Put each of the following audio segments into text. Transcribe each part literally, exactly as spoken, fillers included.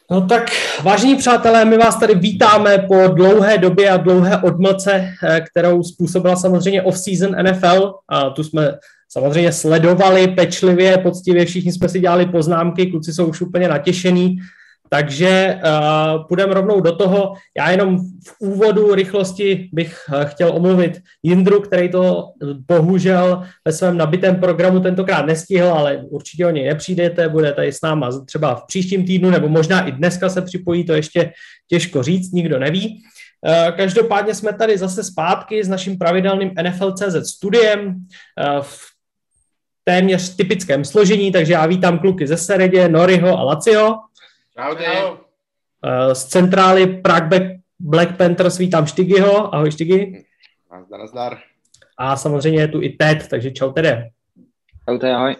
No tak, vážení přátelé, my vás tady vítáme po dlouhé době a dlouhé odmlce, kterou způsobila samozřejmě off-season N F L. A tu jsme samozřejmě sledovali pečlivě, poctivě, všichni jsme si dělali poznámky, kluci jsou už úplně natěšení, takže uh, půjdeme rovnou do toho. Já jenom v úvodu rychlosti bych uh, chtěl omluvit Jindru, který to bohužel ve svém nabitém programu tentokrát nestihl, ale určitě o něj nepřijdete, bude tady s náma třeba v příštím týdnu, nebo možná i dneska se připojí, to ještě těžko říct, nikdo neví. Uh, každopádně jsme tady zase zpátky s naším pravidelným N F L tečka cé zet studiem uh, v téměř typickém složení, takže já vítám kluky ze Seredě, Noriho a Laciho. Čaudy. Z centrály Prague Black Panthers vítám Štygyho. Ahoj Štygy. Nazdar, nazdar. A samozřejmě je tu i Ted, takže čau Tede. Čau Ted, ahoj.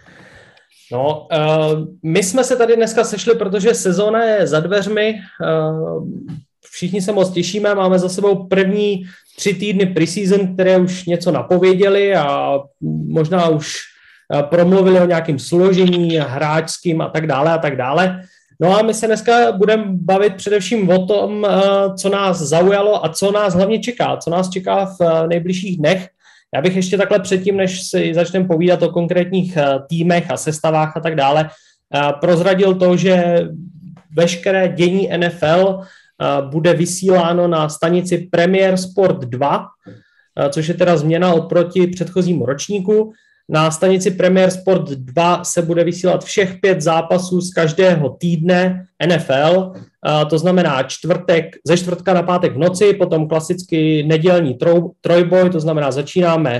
No, uh, my jsme se tady dneska sešli, protože sezóna je za dveřmi. Uh, všichni se moc těšíme, máme za sebou první tři týdny preseason, které už něco napověděli a možná už promluvili o nějakém složení hráčským a tak dále a tak dále. No a my se dneska budeme bavit především o tom, co nás zaujalo a co nás hlavně čeká, co nás čeká v nejbližších dnech. Já bych ještě takhle předtím, než si začneme povídat o konkrétních týmech a sestavách a tak dále, prozradil to, že veškeré dění N F L bude vysíláno na stanici Premier Sport dva, což je teda změna oproti předchozímu ročníku. Na stanici Premier Sport dva se bude vysílat všech pět zápasů z každého týdne N F L, to znamená čtvrtek, ze čtvrtka na pátek v noci, potom klasicky nedělní troj, trojboj, to znamená začínáme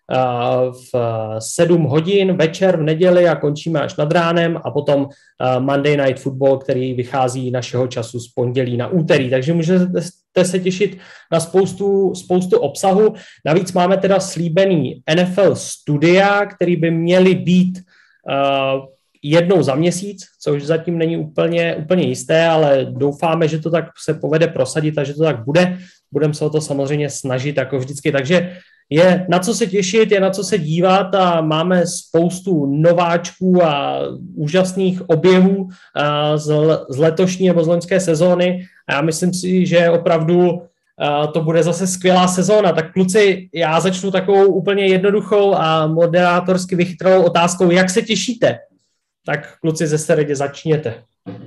v sedm hodin večer v neděli a končíme až nad ránem a potom Monday Night Football, který vychází našeho času z pondělí na úterý. Takže můžete se těšit na spoustu, spoustu obsahu. Navíc máme teda slíbený N F L studia, který by měly být uh, jednou za měsíc, což zatím není úplně, úplně jisté, ale doufáme, že to tak se povede prosadit a že to tak bude. Budeme se o to samozřejmě snažit jako vždycky. Takže je na co se těšit, je na co se dívat a máme spoustu nováčků a úžasných objevů z, z letošní nebo z loňské sezóny a já myslím si, že opravdu to bude zase skvělá sezóna. Tak kluci, já začnu takovou úplně jednoduchou a moderátorsky vychytralou otázkou, jak se těšíte? Tak kluci ze Seredě začněte.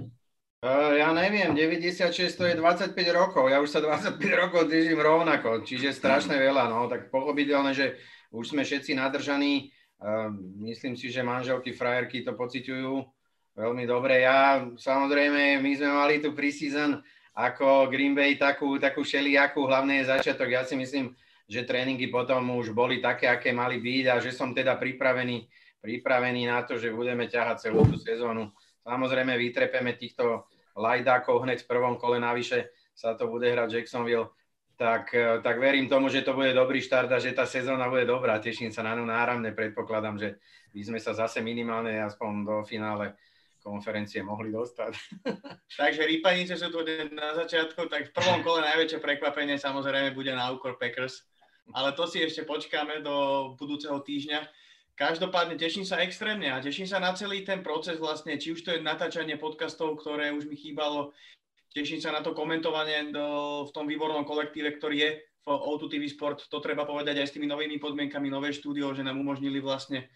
Uh, ja neviem, deväťdesiatšesť to je dvadsaťpäť rokov, ja už sa dvadsaťpäť rokov držím rovnako, čiže strašne veľa, no, tak pochopiteľné, že už sme všetci nadržaní, uh, myslím si, že manželky, frajerky to pociťujú veľmi dobre. Ja, samozrejme, my sme mali tu preseason ako Green Bay takú, takú šelijakú, hlavne je začiatok, ja si myslím, že tréningy potom už boli také, aké mali byť a že som teda pripravený, pripravený na to, že budeme ťahať celú tú sezónu. Samozrejme, vytrepeme týchto lajdákov hneď v prvom kole, navyše sa to bude hrať Jacksonville, tak, tak verím tomu, že to bude dobrý štart a že tá sezóna bude dobrá. Teším sa na ňu náramne, predpokladám, že by sme sa zase minimálne aspoň do finále konferencie mohli dostať. Takže rýpanice sú tu na začiatku, tak v prvom kole najväčšie prekvapenie samozrejme bude na úkor Packers, ale to si ešte počkáme do budúceho týždňa. Každopádne teším sa extrémne a teším sa na celý ten proces vlastne, či už to je natáčanie podcastov, ktoré už mi chýbalo, teším sa na to komentovanie do, v tom výbornom kolektíve, ktorý je v ó dva té vé Sport, to treba povedať aj s tými novými podmienkami, nové štúdio, že nám umožnili vlastne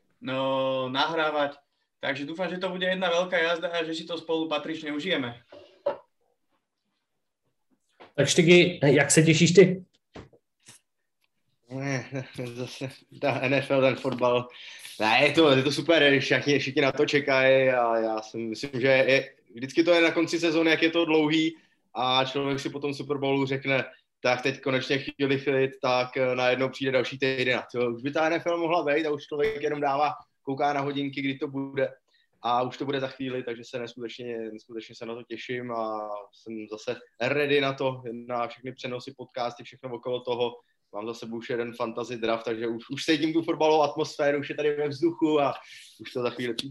no, nahrávať. Takže dúfam, že to bude jedna veľká jazda a že si to spolu patrične užijeme. Tak Štygy, jak se těšíš ty? Ne, zase ta N F L, ten fotbal, ne, je to, je to super, všichni, všichni na to čekají a já si myslím, že je, vždycky to je na konci sezóny, jak je to dlouhý a člověk si po tom Super Bowlu řekne, tak teď konečně chvíli chvíli, tak najednou přijde další týden. Už by ta N F L mohla být a už člověk jenom dává, kouká na hodinky, kdy to bude a už to bude za chvíli, takže se neskutečně, neskutečně se na to těším a jsem zase ready na to, na všechny přenosy, podcasty, všechno okolo toho. Mám za sebou už jeden fantasy draft, takže už, už sedím tu fotbalovou atmosféru, už je tady ve vzduchu a už to za chvíli přijde.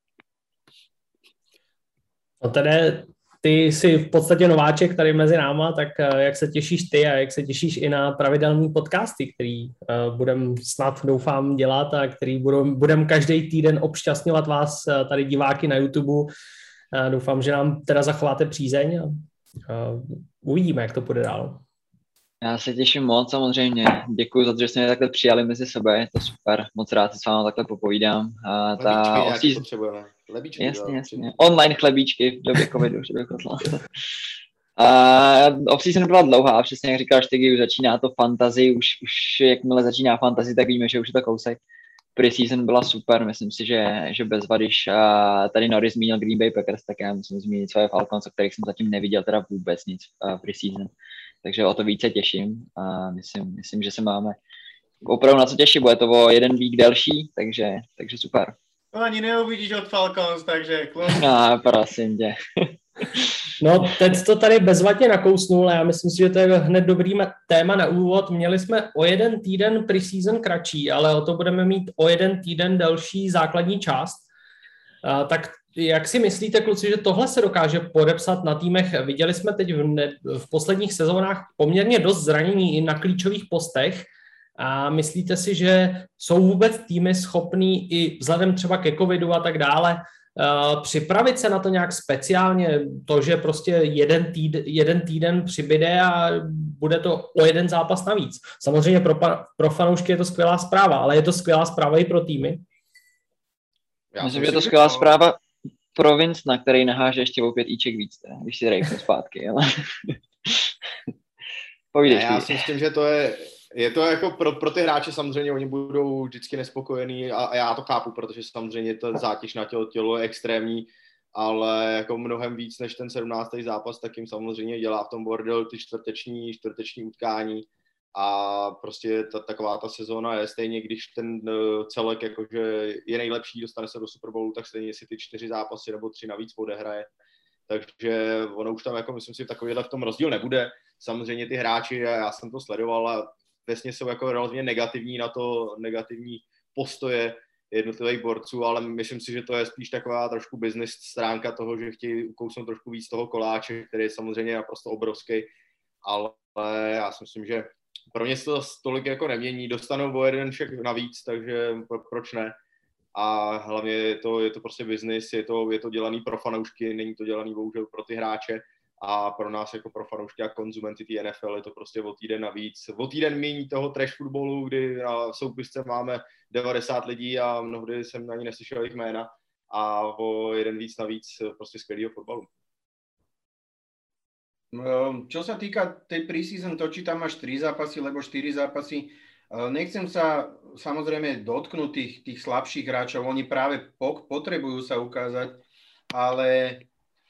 No tedy ty jsi v podstatě nováček tady mezi náma, tak jak se těšíš ty a jak se těšíš i na pravidelný podcasty, který uh, budem snad doufám dělat a který budem, budem každý týden obšťastňovat vás tady diváky na YouTube Doufám, že nám teda zachováte přízeň a uvidíme, jak to půjde dál. Já se těším moc, samozřejmě. Děkuji za to, že jste mě takhle přijali mezi sebe, je to super. Moc rád si s vámi takhle popovídám. A ta Lebíčky off-season... potřebujeme. Lebíčky, jasně, jasně. Online chlebíčky v době covidu, že bych poslal. A off-season byla dlouhá, přesně jak říkáš, teď už začíná to fantasy, už, už jakmile začíná fantasy, tak víme, že už je to kousek. Pre-season byla super, myslím si, že, že bez vady, když tady Norris zmínil Green Bay Packers, tak já musím zmínit svoje Falcons, o kterých jsem zatím neviděl teda vůbec nic uh, pre-season. Takže o to více těším a myslím, myslím, že se máme opravdu na co těšit, bude to o jeden vík delší, takže, takže super. To ani neuvidíš od Falcons, takže klon. No, prosím tě. No, teď to tady bezvadně nakousnul a já myslím si, že to je hned dobrý téma na úvod. Měli jsme o jeden týden pre-season kratší, ale o to budeme mít o jeden týden delší základní část. A, tak jak si myslíte, kluci, že tohle se dokáže podepsat na týmech? Viděli jsme teď v, ne, v posledních sezónách poměrně dost zranění i na klíčových postech. A myslíte si, že jsou vůbec týmy schopný i vzhledem třeba ke covidu a tak dále uh, připravit se na to nějak speciálně? To, že prostě jeden týden, jeden týden přibyde a bude to o jeden zápas navíc. Samozřejmě pro, pro fanoušky je to skvělá zpráva, ale je to skvělá zpráva i pro týmy? Já myslím, že je to skvělá zpráva pro Vincenta, který naháže ještě o pět íček víc, teda, když si rejpnu zpátky. Ale... Povídej. Já si myslím, že to je Je to jako pro, pro ty hráče samozřejmě, oni budou vždycky nespokojení a, a já to chápu, protože samozřejmě ta zátěž na tělo, tělo je extrémní, ale jako mnohem víc než ten sedmnáctý zápas, tak jim samozřejmě dělá v tom bordel ty čtvrteční, čtvrteční utkání a prostě ta, taková ta sezóna je stejně, když ten celek jakože je nejlepší, dostane se do Super Bowlu, tak stejně si ty čtyři zápasy nebo tři navíc odehraje. Takže ono už tam, jako myslím si, takovýhle v tom rozdíl nebude. Samozřejmě ty hráči, já jsem to sledoval a vesně jsou jako relativně negativní na to, negativní postoje jednotlivých borců, ale myslím si, že to je spíš taková trošku business stránka toho, že chtějí ukousnout trošku víc toho koláče, který je samozřejmě naprosto obrovský, ale já si myslím, že pro ně se to tolik jako nemění, dostanou o jeden šek navíc, takže proč ne? A hlavně je to, je to prostě business, je to, je to dělaný pro fanoušky, není to dělaný bohužel pro ty hráče. A pro nás jako pro fanoušky a konzumenty té N F L je to prostě o týden navíc. O týden míň toho trash footballu, kdy na soupisce máme devadesát lidí a mnohdy jsem ani neslyšel jejich jména. A o jeden víc navíc prostě skvělýho fotbalu. Čo sa týka tej preseason, to či tam máš tri zápasy, lebo štyri zápasy, nechcem sa samozrejme dotknúť tých, tých slabších hráčov, oni práve potrebujú sa ukázať, ale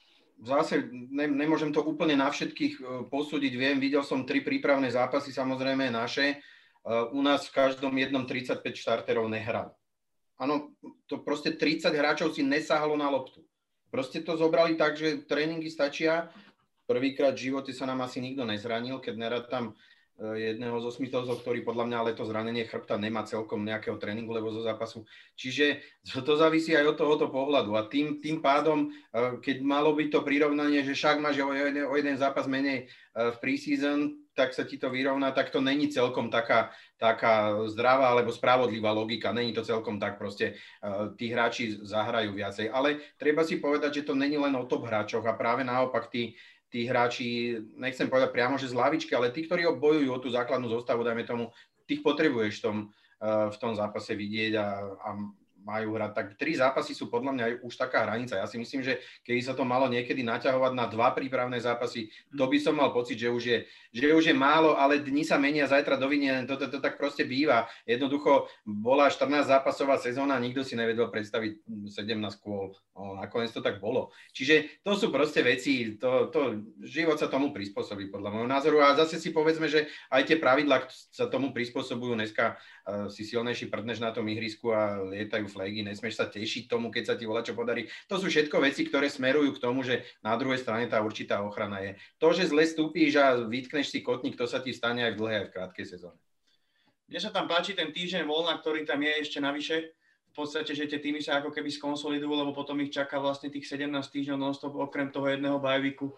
zase ne, nemôžem to úplne na všetkých posúdiť, viem, videl som tri prípravné zápasy, samozrejme naše, u nás v každom jednom tridsaťpäť štarterov nehral. Áno, to proste tridsať hráčov si nesahlo na loptu. Proste to zobrali tak, že tréningy stačia. Prvýkrát v živote sa nám asi nikto nezranil, keď nerátam jedného z osmitozov, ktorý podľa mňa ale to zranenie chrbta nemá celkom nejakého tréningu, lebo zo zápasu. Čiže to závisí aj od tohoto pohľadu. A tým, tým pádom, keď malo byť to prirovnanie, že však máš o jeden, o jeden zápas menej v preseason, tak sa ti to vyrovná, tak to není celkom taká, taká zdravá alebo spravodlivá logika. Není to celkom tak, proste tí hráči zahrajú viacej. Ale treba si povedať, že to není len o top hráčoch a práve naopak tí tí hráči, nechcem povedať priamo, že z lavičky, ale tí, ktorí bojujú o tú základnú zostavu, dajme tomu, tých potrebuješ v tom, v tom zápase vidieť a, a majú hrať. Tak tri zápasy sú podľa mňa už taká hranica. Ja si myslím, že keby sa to malo niekedy naťahovať na dva prípravné zápasy, to by som mal pocit, že už je, že už je málo, ale dni sa menia, zajtra dovinie, to, to, to tak proste býva. Jednoducho bola štrnásť zápasová sezóna, nikto si nevedel predstaviť sedemnásť kôl. No, nakoniec to tak bolo. Čiže to sú proste veci, to, to, život sa tomu prispôsobí podľa môjho názoru. A zase si povedzme, že aj tie pravidlá sa tomu prispôsobujú. Dneska uh, si silnejší prdneš na tom ihrisku a lietajú flagy, nesmieš sa tešiť tomu, keď sa ti volačo podarí. To sú všetko veci, ktoré smerujú k tomu, že na druhej strane tá určitá ochrana je. To, že zle stúpíš a vytkneš si kotník, to sa ti stane aj v dlhej, aj v krátkej sezóne. Mne sa tam páči ten týždeň voľna, ktorý tam je ešte navyše. V podstate, že tie týmy sa ako keby skonsolidujú, lebo potom ich čaká vlastne tých sedemnásť týždňov non-stop, okrem toho jedného bajviku,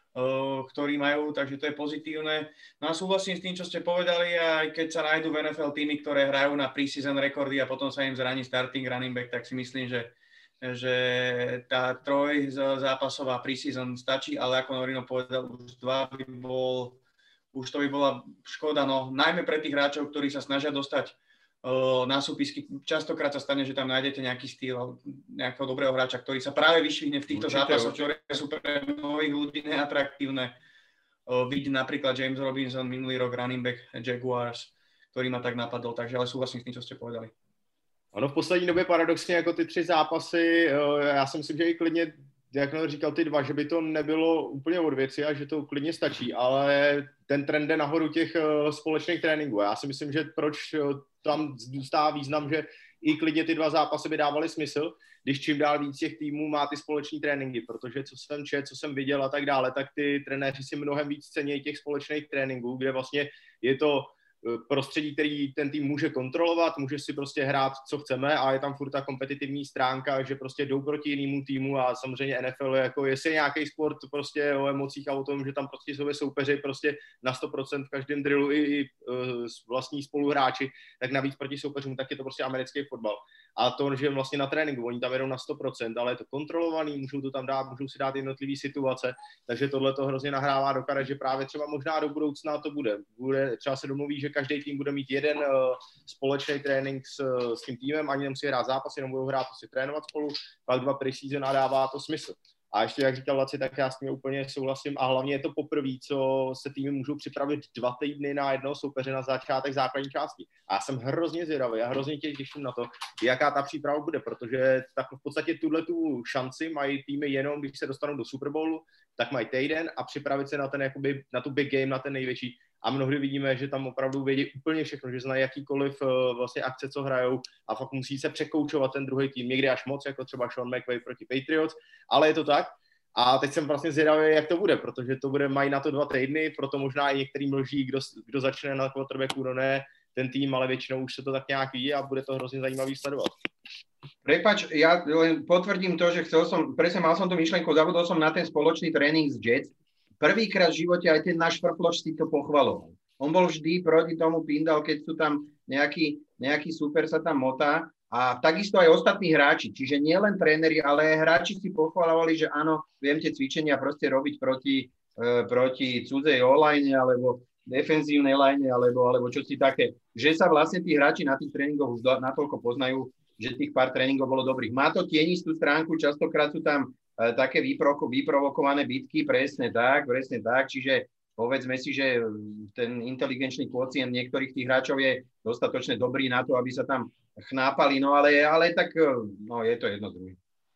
ktorý majú, takže to je pozitívne. No a súhlasím s tým, čo ste povedali, aj keď sa nájdú v N F L týmy, ktoré hrajú na preseason rekordy a potom sa im zraní starting running back, tak si myslím, že že tá troj zápasová preseason stačí, ale ako Norino povedal, už dva by bol, už to by bola škoda, no najmä pre tých hráčov, ktorí sa snažia dostať uh, na súpisky. Častokrát sa stane, že tam nájdete nejaký štýl nejakého dobrého hráča, ktorý sa práve vyšvihne v týchto určite, zápasoch, určite. Ktoré sú pre nových ľudí neatraktívne. Uh, vidí napríklad James Robinson, minulý rok running back Jaguars, ktorý ma tak napadol, takže ale súhlasím s tým, čo ste povedali. Ono v poslední době paradoxně jako ty tři zápasy, já si myslím, že i klidně, jak říkal ty dva, že by to nebylo úplně od věci a že to klidně stačí, ale ten trend jde nahoru těch společných tréninků. Já si myslím, že proč tam zůstává význam, že i klidně ty dva zápasy by dávaly smysl, když čím dál víc těch týmů má ty společní tréninky, protože co jsem čet, co jsem viděl a tak dále, tak ty trenéři si mnohem víc cení těch společných tréninků, kde vlastně je to prostředí, který ten tým může kontrolovat, může si prostě hrát, co chceme a je tam furt ta kompetitivní stránka, že prostě jdou proti jinému týmu a samozřejmě N F L je jako, jestli je nějaký sport prostě o emocích a o tom, že tam prostě jsou soupeři prostě na sto procent v každém drillu i, i uh, vlastní spoluhráči, tak navíc proti soupeřům, tak je to prostě americký fotbal. A to, že vlastně na tréninku, oni tam jedou na sto procent, ale je to kontrolovaný, můžou to tam dát, můžou si dát jednotlivý situace, takže tohle to hrozně nahrává do karet, že právě třeba možná do budoucna to bude. bude třeba se domluví, že každý tým bude mít jeden uh, společný trénink s, s tím týmem, ani nemusí hrát zápas, jenom budou hrát, si trénovat spolu, pak dva preseason a dává to smysl. A ještě, jak říkal Laci, tak já s tím úplně souhlasím a hlavně je to poprvé, co se týmy můžou připravit dva týdny na jednoho soupeře na začátek základní části. A já jsem hrozně zvědavý, já hrozně těším na to, jaká ta příprava bude, protože tak v podstatě tuhle tu šanci mají týmy jenom, když se dostanou do Super Bowlu, tak mají týden a připravit se na ten jakoby, na tu big game, na ten největší. A mnohdy vidíme, že tam opravdu vědí úplně všechno, že znají jakýkoliv uh, vlastně akce, co hrajou a fakt musí se překoučovat ten druhý tým, někdy až moc, jako třeba Sean McVay proti Patriots, ale je to tak. A teď jsem vlastně zvědavý, jak to bude, protože to bude, mají na to dva týdny, proto možná i některý mlží, kdo, kdo začne na quarterbacku, no ne ten tým, ale většinou už se to tak nějak ví a bude to hrozně zajímavý sledovat. Prepač, ja len potvrdím to, že chcel som, presne mal som tú myšlenku, zabudol som na ten spoločný tréning z Jets. Prvýkrát v živote aj ten náš Frfloš si to pochvaloval. On bol vždy proti tomu pindal, keď sú tam nejaký, nejaký super sa tam motá a takisto aj ostatní hráči, čiže nie len tréneri, ale aj hráči si pochvalovali, že áno, viem tie cvičenia proste robiť proti, e, proti cudzej online alebo defenzívnej line alebo, alebo čo si také, že sa vlastne tí hráči na tých tréningoch už natoľko poznajú, že tých pár tréningov bolo dobrých. Má to tienistú stránku, častokrát sú tam e, také vyproko, vyprovokované bitky, presne tak, presne tak, čiže povedzme si, že ten inteligenčný kvocient niektorých tých hráčov je dostatočne dobrý na to, aby sa tam chnápali, no ale, ale tak no, je to jedno druhé.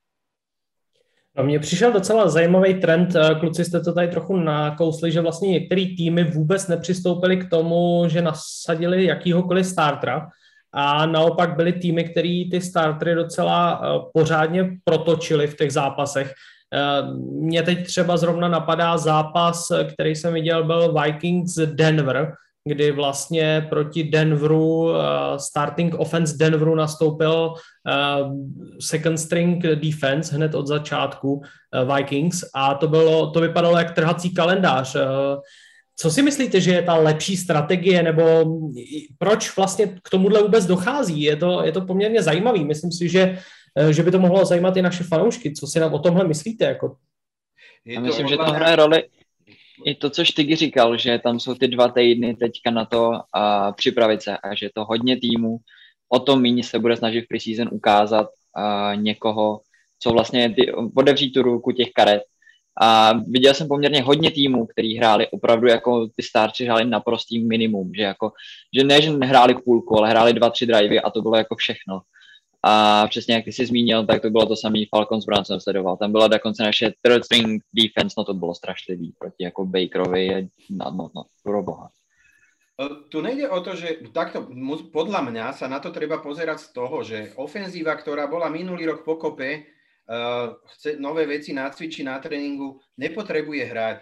No, mně přišel docela zajímavý trend, kluci jste to tady trochu nakousli, že vlastně některý týmy vůbec nepřistoupili k tomu, že nasadili jakýhokoliv startera a naopak byly týmy, který ty startery docela pořádně protočili v těch zápasech. Mně teď třeba zrovna napadá zápas, který jsem viděl, byl Vikings Denver, kdy vlastně proti Denveru, starting offense Denveru nastoupil second string defense hned od začátku Vikings a to, bylo, to vypadalo jak trhací kalendář. Co si myslíte, že je ta lepší strategie, nebo proč vlastně k tomuhle vůbec dochází? Je to, je to poměrně zajímavý. Myslím si, že, že by to mohlo zajímat i naše fanoušky. Co si nám o tomhle myslíte? Jako? Já myslím, že to hraje roli i to, co Štygy říkal, že tam jsou ty dva týdny teďka na to a připravit se a že to hodně týmů o tom míň se bude snažit v preseason ukázat a někoho, co vlastně ty, otevřít tu ruku těch karet. A viděl jsem poměrně hodně týmů, který hráli opravdu jako ty starči hráli naprostý minimum, že jako, že ne, že nehráli půlku, ale hráli dva, tři drivey a to bylo jako všechno. A přesně jak ty jsi zmínil, tak to bylo to samý Falcons Browns jsem sledoval. Tam byla dokonce naše third string defense, no to bylo strašlivý proti jako Bakerovi, no, no, no, pro boha. Tu nejde o to, že takto, podľa mňa sa na to treba pozerať z toho, že ofenzíva, ktorá bola minulý rok pokope, uh, chce nové veci nacvičiť na tréningu, nepotrebuje hrať.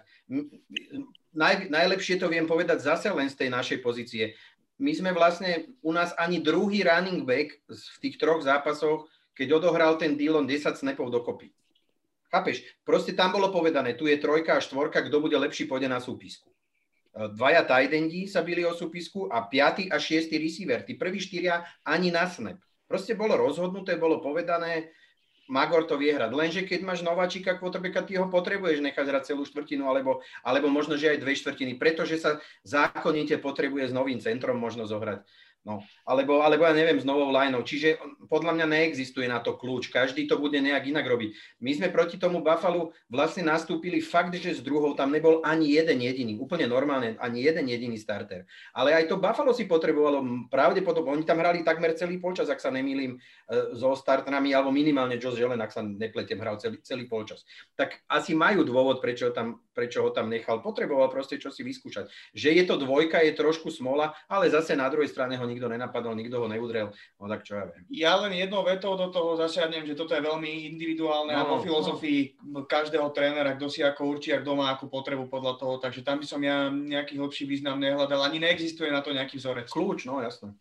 Naj, najlepšie to viem povedať zase len z tej našej pozície. My sme vlastne, u nás ani druhý running back v tých troch zápasoch, keď odohral ten Dillon desať snapov dokopy. Chápeš? Proste tam bolo povedané, tu je trojka a štvorka, kto bude lepší, pôjde na súpisku. Dvaja tight endi sa bili o súpisku a piaty a šiestý receiver. Tí prví štyria ani na snap. Proste bolo rozhodnuté, bolo povedané, Magor to vie hrať. Lenže keď máš nováčika quarterbacka, ty ho potrebuješ nechať hrať celú štvrtinu, alebo, alebo možno, že aj dve štvrtiny, pretože sa zákonite potrebuje s novým centrom možno zohrať. No, alebo, alebo ja neviem, s novou lineou. Čiže podľa mňa neexistuje na to kľúč. Každý to bude nejak inak robiť. My sme proti tomu Buffalo vlastne nastúpili fakt, že s druhou tam nebol ani jeden jediný, úplne normálne, ani jeden jediný starter. Ale aj to Buffalo si potrebovalo pravdepodobne, oni tam hrali takmer celý polčas, ak sa nemýlim, so starterami, alebo minimálne Josh Allen, ak sa nepletiem, hral celý, celý polčas. Tak asi majú dôvod, prečo, tam, prečo ho tam nechal. Potreboval proste čo si vyskúšať. Že je to dvojka, je trošku smola, ale zase na druhej strane ho nikto nenapadol, nikto ho neudrel, no tak čo ja viem. Ja len jednou vetou do toho zasiadnem, že toto je veľmi individuálne no, a vo filozofii no. každého trénera, kto si ako určí, kto má akú potrebu podľa toho, takže tam by som ja nejaký hlbší význam nehľadal, ani neexistuje na to nejaký vzorec. Kľúč, no jasné.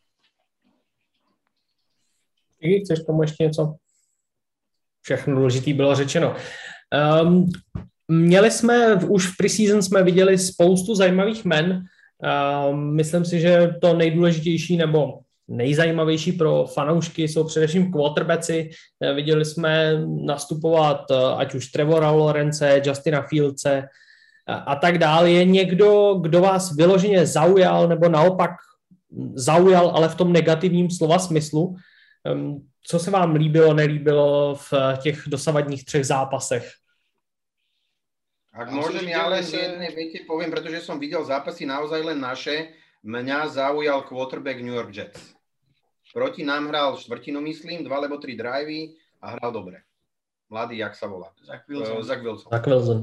Ty chceš tomu ještě něco? Všechno důležitý bylo řečeno. Um, měli jsme, už v preseason jsme viděli spoustu zajímavých men. Uh, myslím si, že to nejdůležitější nebo nejzajímavější pro fanoušky jsou především quarterbacki. Uh, viděli jsme nastupovat uh, ať už Trevora Lawrence, Justina Fieldse uh, a tak dále. Je někdo, kdo vás vyloženě zaujal nebo naopak zaujal, ale v tom negativním slova smyslu? Um, co se vám líbilo, nelíbilo v těch dosavadních třech zápasech? Ak môžem ja len v jednej vete poviem, pretože som videl zápasy naozaj len naše, mňa zaujal quarterback New York Jets. Proti nám hral štvrtinu, myslím, dva alebo tri drivey a hral dobre. Mladý, jak sa volá? Zach Wilson. Uh, Zach Wilson. Zach Wilson.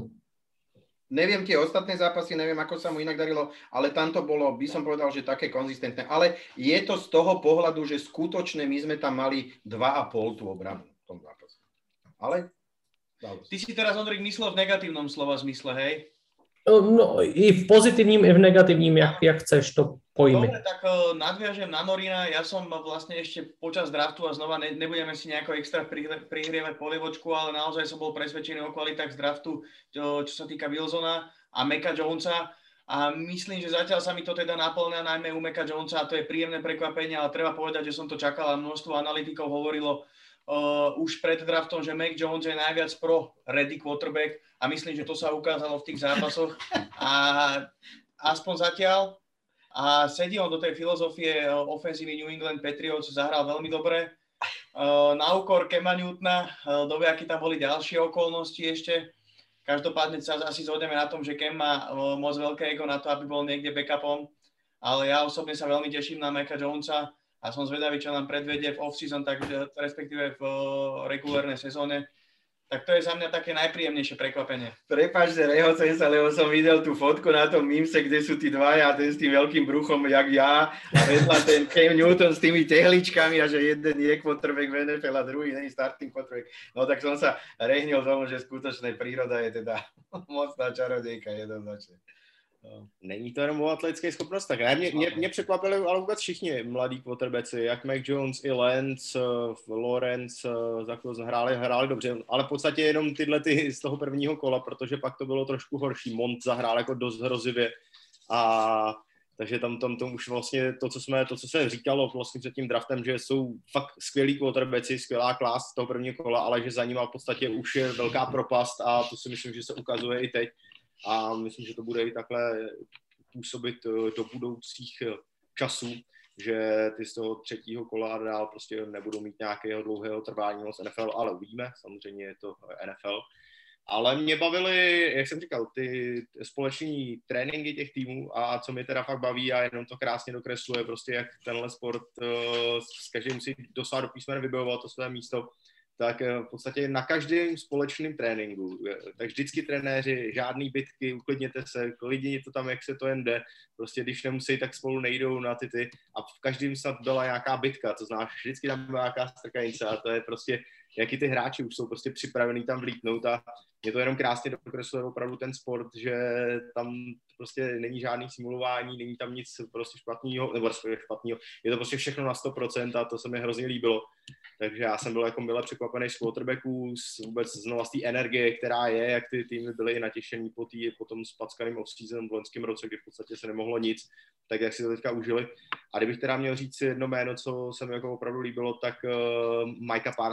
Neviem tie ostatné zápasy, neviem, ako sa mu inak darilo, ale tam to bolo, by som povedal, že také konzistentné. Ale je to z toho pohľadu, že skutočne my sme tam mali dva a pol tú obranu v tom zápase. Ale ty si teraz, Ondrik, myslel v negatívnom slova zmysle, hej? No, i v pozitivním, i v negativním, jak, jak chceš to pojmy. Dobre, tak nadviažem na Norina. Ja som vlastne ešte počas draftu a znova ne, nebudeme si nejako extra prihrievať polievočku, ale naozaj som bol presvedčený o kvalitách z draftu, čo, čo sa týka Wilsona a Meka Jonesa. A myslím, že zatiaľ sa mi to teda naplňa najmä u Meka Jonesa a to je príjemné prekvapenie, ale treba povedať, že som to čakal a množstvo analytikov hovorilo Uh, už pred draftom, že Mac Jones je najviac pro ready quarterback a myslím, že to sa ukázalo v tých zápasoch a aspoň zatiaľ a sedí on do tej filozofie ofenzívy New England Patriots, zahral veľmi dobre uh, na úkor Cama Newtona, uh, dobe, aké tam boli ďalšie okolnosti ešte. Každopádne sa asi zhodneme na tom, že Cam má uh, moc veľké ego na to, aby bol niekde backupom, ale ja osobne sa veľmi teším na Maca Jonesa a som zvedavý, čo nám predvedie v off-season, tak respektíve v regulárnej sezóne. Tak to je za mňa také najpríjemnejšie prekvapenie. Prepáč, že rehocem sa, lebo som videl tú fotku na tom mimse, kde sú tí dvaja, ten s tým veľkým bruchom, jak ja, a vedľa ten Cam Newton s tými tehličkami a že jeden je quarterback v en ef el a druhý není starting quarterback. No tak som sa rehnil tomu, že skutočná príroda je teda mocná čarodejka jednoznačne. No. Není to jenom o atletických schopnostech. Ne, mě, mě, mě překvapili ale vůbec všichni mladí quarterbacki, jak Mac Jones i Lance, Lawrence, Zach Wilson hráli, hráli dobře, ale v podstatě jenom tyhle ty z toho prvního kola, protože pak to bylo trošku horší. Mont zahrál jako dost hrozivě a takže tam, tam, tam už vlastně to, co jsme, to, co se říkalo vlastně před tím draftem, že jsou fakt skvělí quarterbacki, skvělá klás z toho prvního kola, ale že za nima v podstatě už je velká propast a to si myslím, že se ukazuje i teď. A myslím, že to bude i takhle působit do budoucích časů, že ty z toho třetího kola a dál prostě nebudou mít nějakého dlouhého trvání moc en ef el, ale uvidíme, samozřejmě je to en ef el. Ale mě bavily, jak jsem říkal, ty společní tréninky těch týmů a co mě teda fakt baví a jenom to krásně dokresluje, prostě jak tenhle sport s každým si dosáhl do písmene vybojoval to své místo, tak v podstatě na každém společném tréninku, tak vždycky trenéři, žádný bitky, uklidněte se, klidně to tam, jak se to jen jde, prostě když nemusí, tak spolu nejdou na ty ty a v každém snad byla nějaká bitka, to znáš, vždycky tam byla nějaká strkanice a to je prostě, jaký ty hráči už jsou prostě připravení tam vlítnout a je to jenom krásně dokresluje opravdu ten sport, že tam prostě není žádný simulování, není tam nic prostě špatného, nebo špatného, je to prostě všechno na sto procent a to se mi hrozně líbilo. Takže já jsem byl jako mile překvapený z quarterbacků, z vůbec znova z té energie, která je, jak ty týmy byly natěšený po, tý, po tom spackaným off-season v loňském roce, kdy v podstatě se nemohlo nic, tak jak si to teďka užili. A kdybych teda měl říct jedno jméno, co se mi jako opravdu líbilo, tak uh, Micah Parsons teda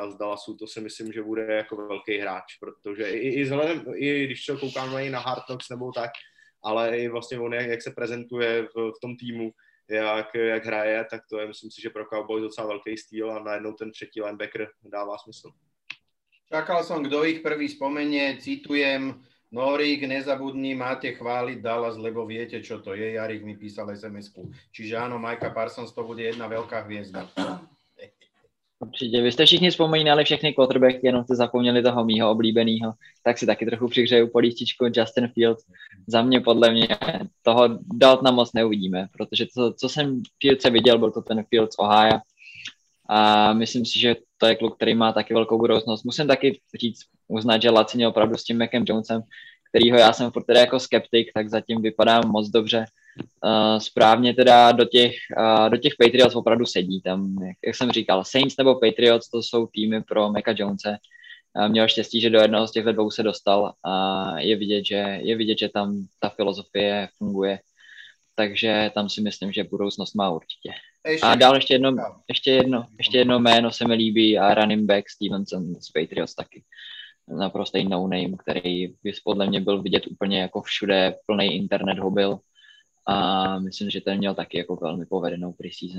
z Dallasu, to si myslím, že bude jako velký hráč, protože i, i vzhledem, i když se koukáme i na Hard Knocks nebo tak, ale i vlastně on, jak, jak se prezentuje v, v tom týmu, jak, jak hraje, tak to je, myslím si, že pro Cowboys docela velký styl a najednou ten třetí linebacker dává smysl. Čakal som, kto ich prvý spomenie, citujem, Norík, nezabudni, máte chváliť Dallas, lebo viete, čo to je. Jarik mi písal es em esku. Čiže áno, Micah Parsons to bude jedna veľká hviezda. Určitě. Vy jste všichni vzpomínali všechny quarterbacky, jenom jste zapomněli toho mýho oblíbeného, tak si taky trochu přihřeju polístičku Justin Fields. Za mě, podle mě, toho Daltona moc neuvidíme, protože to, co jsem Fieldse viděl, byl to ten Fields Ohio. A myslím si, že to je kluk, který má taky velkou budoucnost. Musím taky říct, uznat, že Laci měl opravdu s tím Macem Jonesem, kterýho já jsem furt teda jako skeptik, tak zatím vypadá moc dobře. Uh, správně teda do těch, uh, do těch Patriots opravdu sedí. Tam, jak, jak jsem říkal, Saints nebo Patriots, to jsou týmy pro Maca Jonese. Uh, měl štěstí, že do jednoho z těchto dvou se dostal a je vidět, že, je vidět, že tam ta filozofie funguje. Takže tam si myslím, že budoucnost má určitě. A dál ještě jedno, ještě jedno, ještě jedno jméno se mi líbí a running back Stevenson z Patriots taky. Naprostý no-name, který by podle mě byl vidět úplně jako všude, plný internet ho byl. A myslím, že ten měl taky jako velmi povedenou preseason.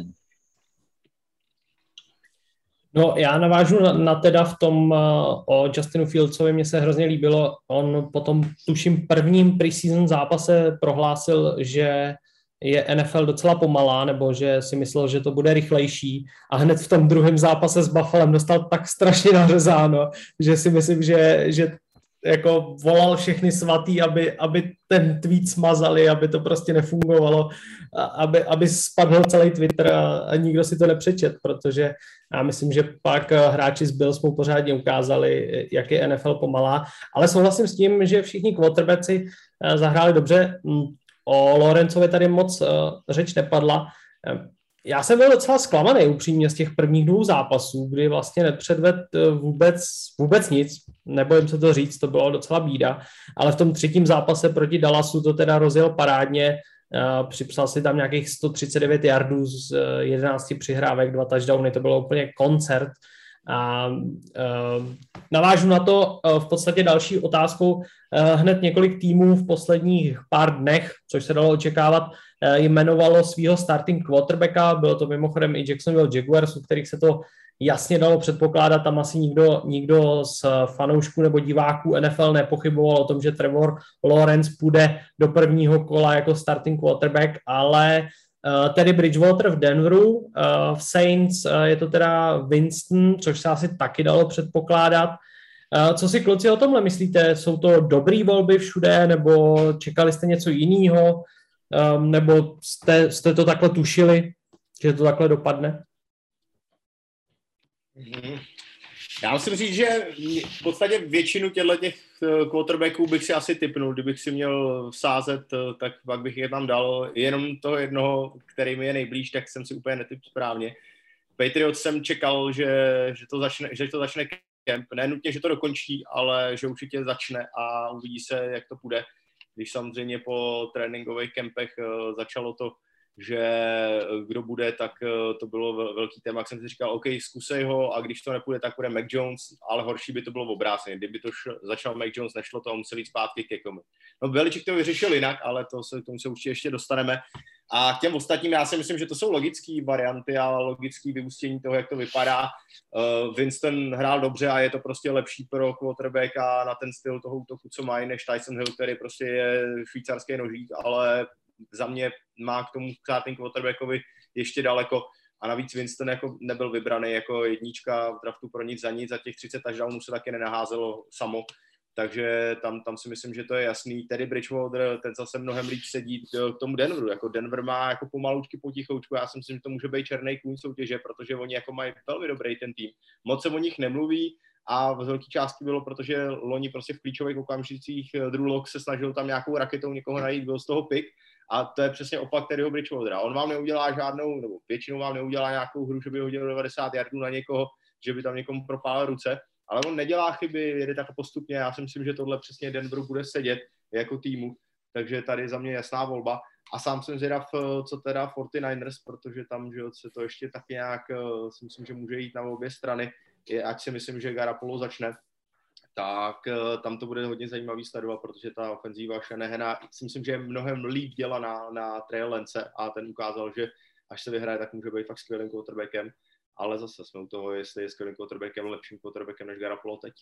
No, já navážu na, na teda v tom uh, o Justinu Fieldsovi, mně se hrozně líbilo, on potom tuším prvním preseason zápase prohlásil, že je N F L docela pomalá, nebo že si myslel, že to bude rychlejší a hned v tom druhém zápase s Buffalem dostal tak strašně nařezáno, že si myslím, že, že jako volal všechny svatý, aby, aby ten tweet smazali, aby to prostě nefungovalo, aby, aby spadl celý Twitter a, a nikdo si to nepřečet, protože já myslím, že pak hráči z Bills mu pořádně ukázali, jak je N F L pomalá, ale souhlasím s tím, že všichni quarterbacki zahráli dobře. O Lawrenceovi tady moc uh, řeč nepadla. Já jsem byl docela zklamaný upřímně z těch prvních dvou zápasů, kdy vlastně nepředvedl vůbec, vůbec nic, nebojím se to říct, to bylo docela bída, ale v tom třetím zápase proti Dallasu to teda rozjel parádně, uh, připsal si tam nějakých sto třicet devět yardů z uh, jedenácti přihrávek, dva touchdowny, to bylo úplně koncert. A uh, navážu na to uh, v podstatě další otázkou. Uh, hned několik týmů v posledních pár dnech, což se dalo očekávat, uh, jmenovalo svého starting quarterbacka. Bylo to mimochodem i Jacksonville Jaguars, u kterých se to jasně dalo předpokládat. Tam asi nikdo, nikdo z fanoušků nebo diváků N F L nepochyboval o tom, že Trevor Lawrence půjde do prvního kola jako starting quarterback, ale Uh, tedy Bridgewater v Denveru, uh, v Saints uh, je to teda Winston, což se asi taky dalo předpokládat. Uh, co si kluci o tomhle myslíte? Jsou to dobrý volby všude, nebo čekali jste něco jiného, um, nebo jste, jste to takhle tušili, že to takhle dopadne? Mm-hmm. Já musím říct, že v podstatě většinu těchto quarterbacků bych si asi tipnul, kdybych si měl sázet, tak pak bych je tam dal. Jenom toho jednoho, který mi je nejblíž, tak jsem si úplně netyp správně. Patriots jsem čekal, že, že, to začne, že to začne kemp. Ne nutně, že to dokončí, ale že určitě začne a uvidí se, jak to půjde. Když samozřejmě po tréninkových kempech začalo to, že kdo bude, tak to bylo velký téma, jak jsem si říkal, OK, zkusej ho a když to nepůjde, tak bude Mac Jones, ale horší by to bylo v obráceně. Kdyby to šlo, začal Mac Jones, nešlo to a musel jít zpátky ke komu. No Belichick to vyřešil jinak, ale to se, k tomu se určitě ještě dostaneme. A k těm ostatním já si myslím, že to jsou logické varianty a logické vyústění toho, jak to vypadá. Uh, Winston hrál dobře a je to prostě lepší pro quarterbacka na ten styl toho útoku, co mají, než Tyson Hill, který prostě je švýcarský nožík, ale za mě má k tomu starting quarterbackovi ještě daleko a navíc Winston jako nebyl vybraný jako jednička v draftu pro nic za nic, za těch třicet touchdownů se taky nenaházelo samo, takže tam, tam si myslím, že to je jasný. Tedy Bridgewater, ten zase mnohem líp sedí k tomu Denveru, jako Denver má jako pomalučky potichoučku, já si myslím, že to může být černý kůň soutěže, protože oni jako mají velmi dobrý ten tým, moc se o nich nemluví a v velké části bylo, protože loni prostě v klíčových okamžicích Drew Lock se snažil tam nějakou raketou někoho najít, byl z toho pick. A to je přesně opak Terryho Bridgewatera. On vám neudělá žádnou, nebo většinou vám neudělá nějakou hru, že by hodil devadesát yardů na někoho, že by tam někomu propálil ruce, ale on nedělá chyby, jede tak postupně. Já si myslím, že tohle přesně Denveru bude sedět jako týmu, takže tady za mě jasná volba. A sám jsem zvědav, co teda forty niners, protože tam že se to ještě tak nějak, si myslím, že může jít na obě strany. je, ať si myslím, že Garoppolo začne, tak uh, tam to bude hodně zajímavý sledovat, protože ta ofenzíva Shanahana si myslím, že je mnohem líp dělaná na Trey Lance a ten ukázal, že až se vyhraje, tak může být fakt skvělým quarterbackem, ale zase jsme u toho, jestli je skvělým quarterbackem, lepším quarterbackem než Garoppolo teď.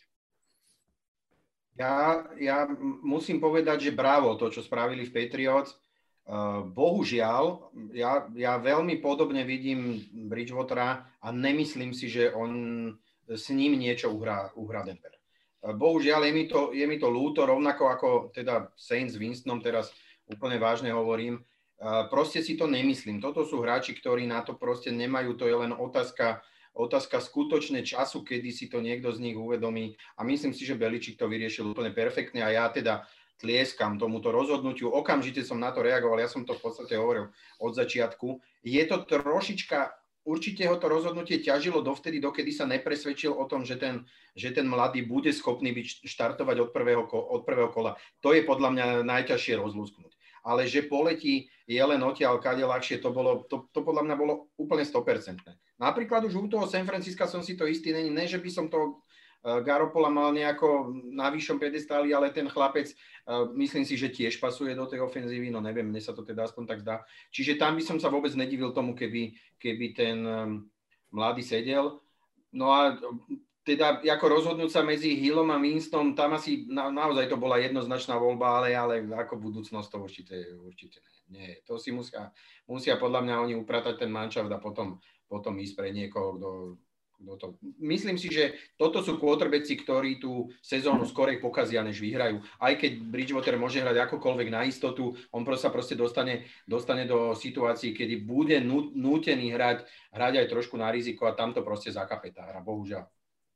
Ja, ja musím povedať, že bravo to, čo spravili v Patriots. Uh, bohužiaľ, ja, ja veľmi podobne vidím Bridgewatera a nemyslím si, že on s ním niečo uhrá, uhrá Denver. Uh, bohužiaľ, je mi, to, je mi to ľúto, rovnako ako teda Saints s Winstonom, teraz úplne vážne hovorím. Uh, proste si to nemyslím. Toto sú hráči, ktorí na to proste nemajú, to je len otázka Otázka skutočne času, kedy si to niekto z nich uvedomí. A myslím si, že Beličík to vyriešil úplne perfektne a ja teda tlieskam tomuto rozhodnutiu. Okamžite som na to reagoval, ja som to v podstate hovoril od začiatku. Je to trošička, určite ho to rozhodnutie ťažilo dovtedy, dokedy sa nepresvedčil o tom, že ten, že ten mladý bude schopný byť štartovať od prvého, od prvého kola. To je podľa mňa najťažšie rozlúsknuť. Ale že poletí je len odtiaľ kade ľahšie, to, bolo, to, to podľa mňa bolo úplne sto percent. Napríklad už u toho San Francisca som si to istý, ne, ne že by som to Garoppola mal nejako na vyššom pedestáli, ale ten chlapec, myslím si, že tiež pasuje do tej ofenzívy, no neviem, mne sa to teda aspoň tak zdá. Čiže tam by som sa vôbec nedivil tomu, keby, keby ten mladý sedel. No a teda ako rozhodnúť sa medzi Hillom a Winstonom, tam asi na, naozaj to bola jednoznačná voľba, ale, ale ako budúcnosť to určite, určite nie. nie. To si musia, musia podľa mňa oni upratať ten manšaft a potom, potom ísť pre niekoho, kto, kto to... Myslím si, že toto sú quarterbacki, ktorí tú sezónu skorej pokazia, než vyhrajú. Aj keď Bridgewater môže hrať akokoľvek na istotu, on sa proste dostane, dostane do situácií, kedy bude nútený hrať, hrať aj trošku na riziko a tam to proste zakape tá hra, bohužiaľ.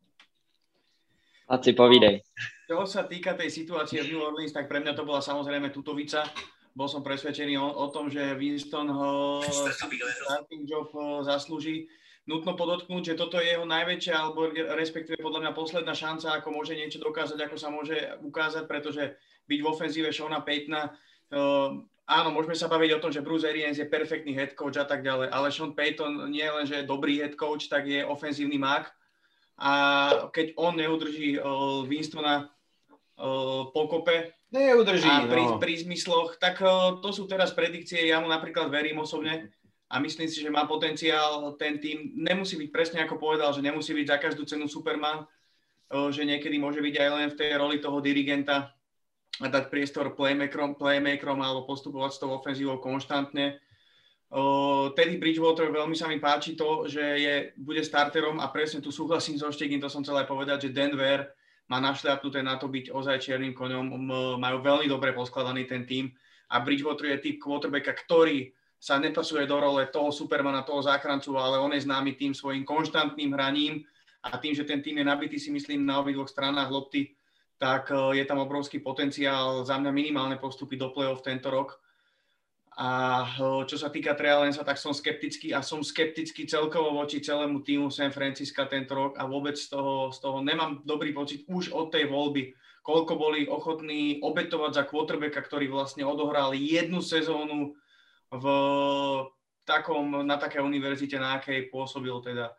A si povídej. Čo sa týka tej situácie v New Orleans, tak pre mňa to bola samozrejme tutovica. Bol som presvedčený o, o tom, že Winston ho starting job zaslúži. Nutno podotknúť, že toto je jeho najväčšia, alebo respektíve podľa mňa posledná šanca, ako môže niečo dokázať, ako sa môže ukázať, pretože byť v ofenzíve Seana Paytona, uh, áno, môžeme sa baviť o tom, že Bruce Arians je perfektný head coach a tak ďalej, ale Sean Payton nie len, že je dobrý head coach, tak je ofenzívny mák. A keď on neudrží uh, Winstona uh, pokope neudrží, a pri, no. pri zmysloch, tak uh, to sú teraz predikcie, ja mu napríklad verím osobne a myslím si, že má potenciál ten tým. Nemusí byť presne ako povedal, že nemusí byť za každú cenu Superman, uh, že niekedy môže byť aj len v tej roli toho dirigenta a dať priestor playmakerom, playmakerom alebo postupovať s tou ofenzívou konštantne. Uh, Teddy Bridgewater, veľmi sa mi páči to, že je, bude starterom a presne tu súhlasím so Štegin, to som chcel aj povedať, že Denver má našľapnuté na to byť ozaj čiernym koňom, um, majú veľmi dobre poskladaný ten tím a Bridgewater je typ quarterbacka, ktorý sa nepasuje do role toho supermana, toho záchrancu, ale on je známy tým svojím konštantným hraním a tým, že ten tím je nabitý, si myslím, na obidvoch stranách lopty, tak uh, je tam obrovský potenciál, za mňa minimálne postupy do play-off tento rok. A čo sa týka Treya Lancea, tak som skeptický a som skeptický celkovo voči celému týmu San Francisca tento rok a vôbec z toho, z toho nemám dobrý pocit už od tej voľby, koľko boli ochotní obetovať za quarterbacka, ktorý vlastne odohral jednu sezónu v takom, na také univerzite, na akej pôsobil teda.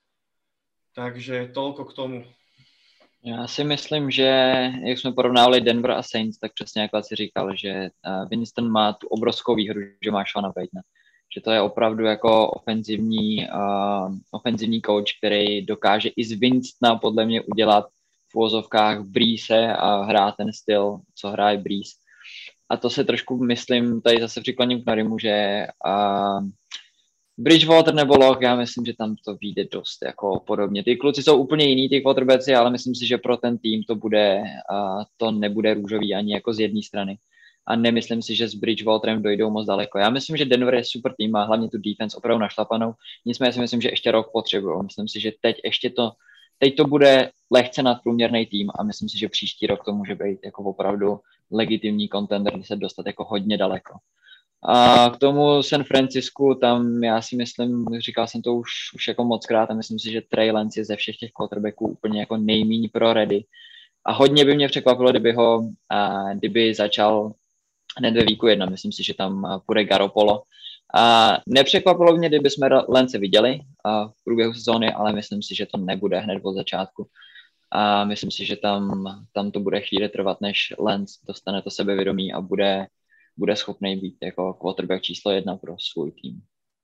Takže toľko k tomu. Já si myslím, že jak jsme porovnávali Denver a Saints, tak přesně jak si říkal, že Winston má tu obrovskou výhru, že má Seana Paytona. Že to je opravdu jako ofenzivní, uh, ofenzivní coach, který dokáže i z Winstona podle mě udělat v uvozovkách Breeze a hrát ten styl, co hraje Breeze. A to se trošku myslím, tady zase přikloním k Norimu, že uh, Bridgewater nebo Lock, já myslím, že tam to vyjde dost jako podobně. Ty kluci jsou úplně jiný, ty quarterbacki, ale myslím si, že pro ten tým to bude, uh, to nebude růžový ani jako z jedné strany. A nemyslím si, že s Bridgewaterem dojdou moc daleko. Já myslím, že Denver je super tým, má hlavně tu defense opravdu našlapanou. Nicméně si myslím, že ještě rok potřebují. Myslím si, že teď ještě to, teď to bude lehce nadprůměrný tým a myslím si, že příští rok to může být jako opravdu legitimní contender, se dostat jako hodně daleko. A k tomu San Francisku, tam já si myslím, říkal jsem to už, už jako mockrát a myslím si, že Trey Lance je ze všech těch quarterbacků úplně jako nejméně pro ready. A hodně by mě překvapilo, kdyby ho, a, kdyby začal hned ve výku jedna. Myslím si, že tam půjde Garoppolo A nepřekvapilo mě, kdyby jsme Lance viděli a v průběhu sezóny, ale myslím si, že to nebude hned od začátku. A myslím si, že tam, tam to bude chvíli trvat, než Lance dostane to sebevědomí a bude, bude schopný být jako quarterback číslo jedna pro svůj tým.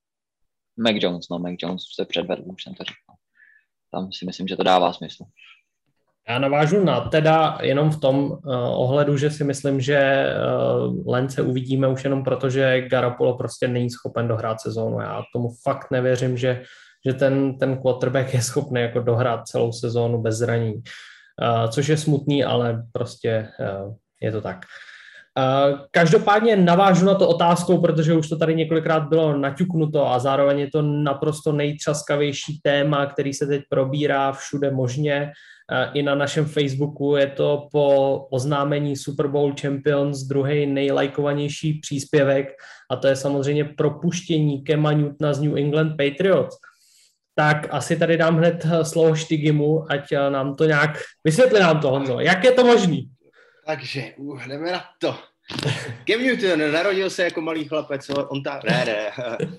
Mac Jones, no Mac Jones se předvedl, už jsem to říkal. Tam si myslím, že to dává smysl. Já navážu na teda jenom v tom uh, ohledu, že si myslím, že uh, Lance uvidíme už jenom proto, že Garoppolo prostě není schopen dohrát sezónu. Já tomu fakt nevěřím, že, že ten, ten quarterback je schopný jako dohrát celou sezónu bez zranění. Uh, což je smutný, ale prostě uh, je to tak. Uh, každopádně navážu na to otázkou, protože už to tady několikrát bylo naťuknuto a zároveň je to naprosto nejtřaskavější téma, který se teď probírá všude možně. Uh, I na našem Facebooku je to po oznámení Super Bowl Champions druhý nejlajkovanější příspěvek a to je samozřejmě propuštění Cama Newtona z New England Patriots. Tak asi tady dám hned slovo Štygimu, ať nám to nějak vysvětlí nám to, Honzo. Jak je to možný? Takže, uh, jdeme na to. Cam Newton narodil se jako malý chlapec, on ta... Ne, ne.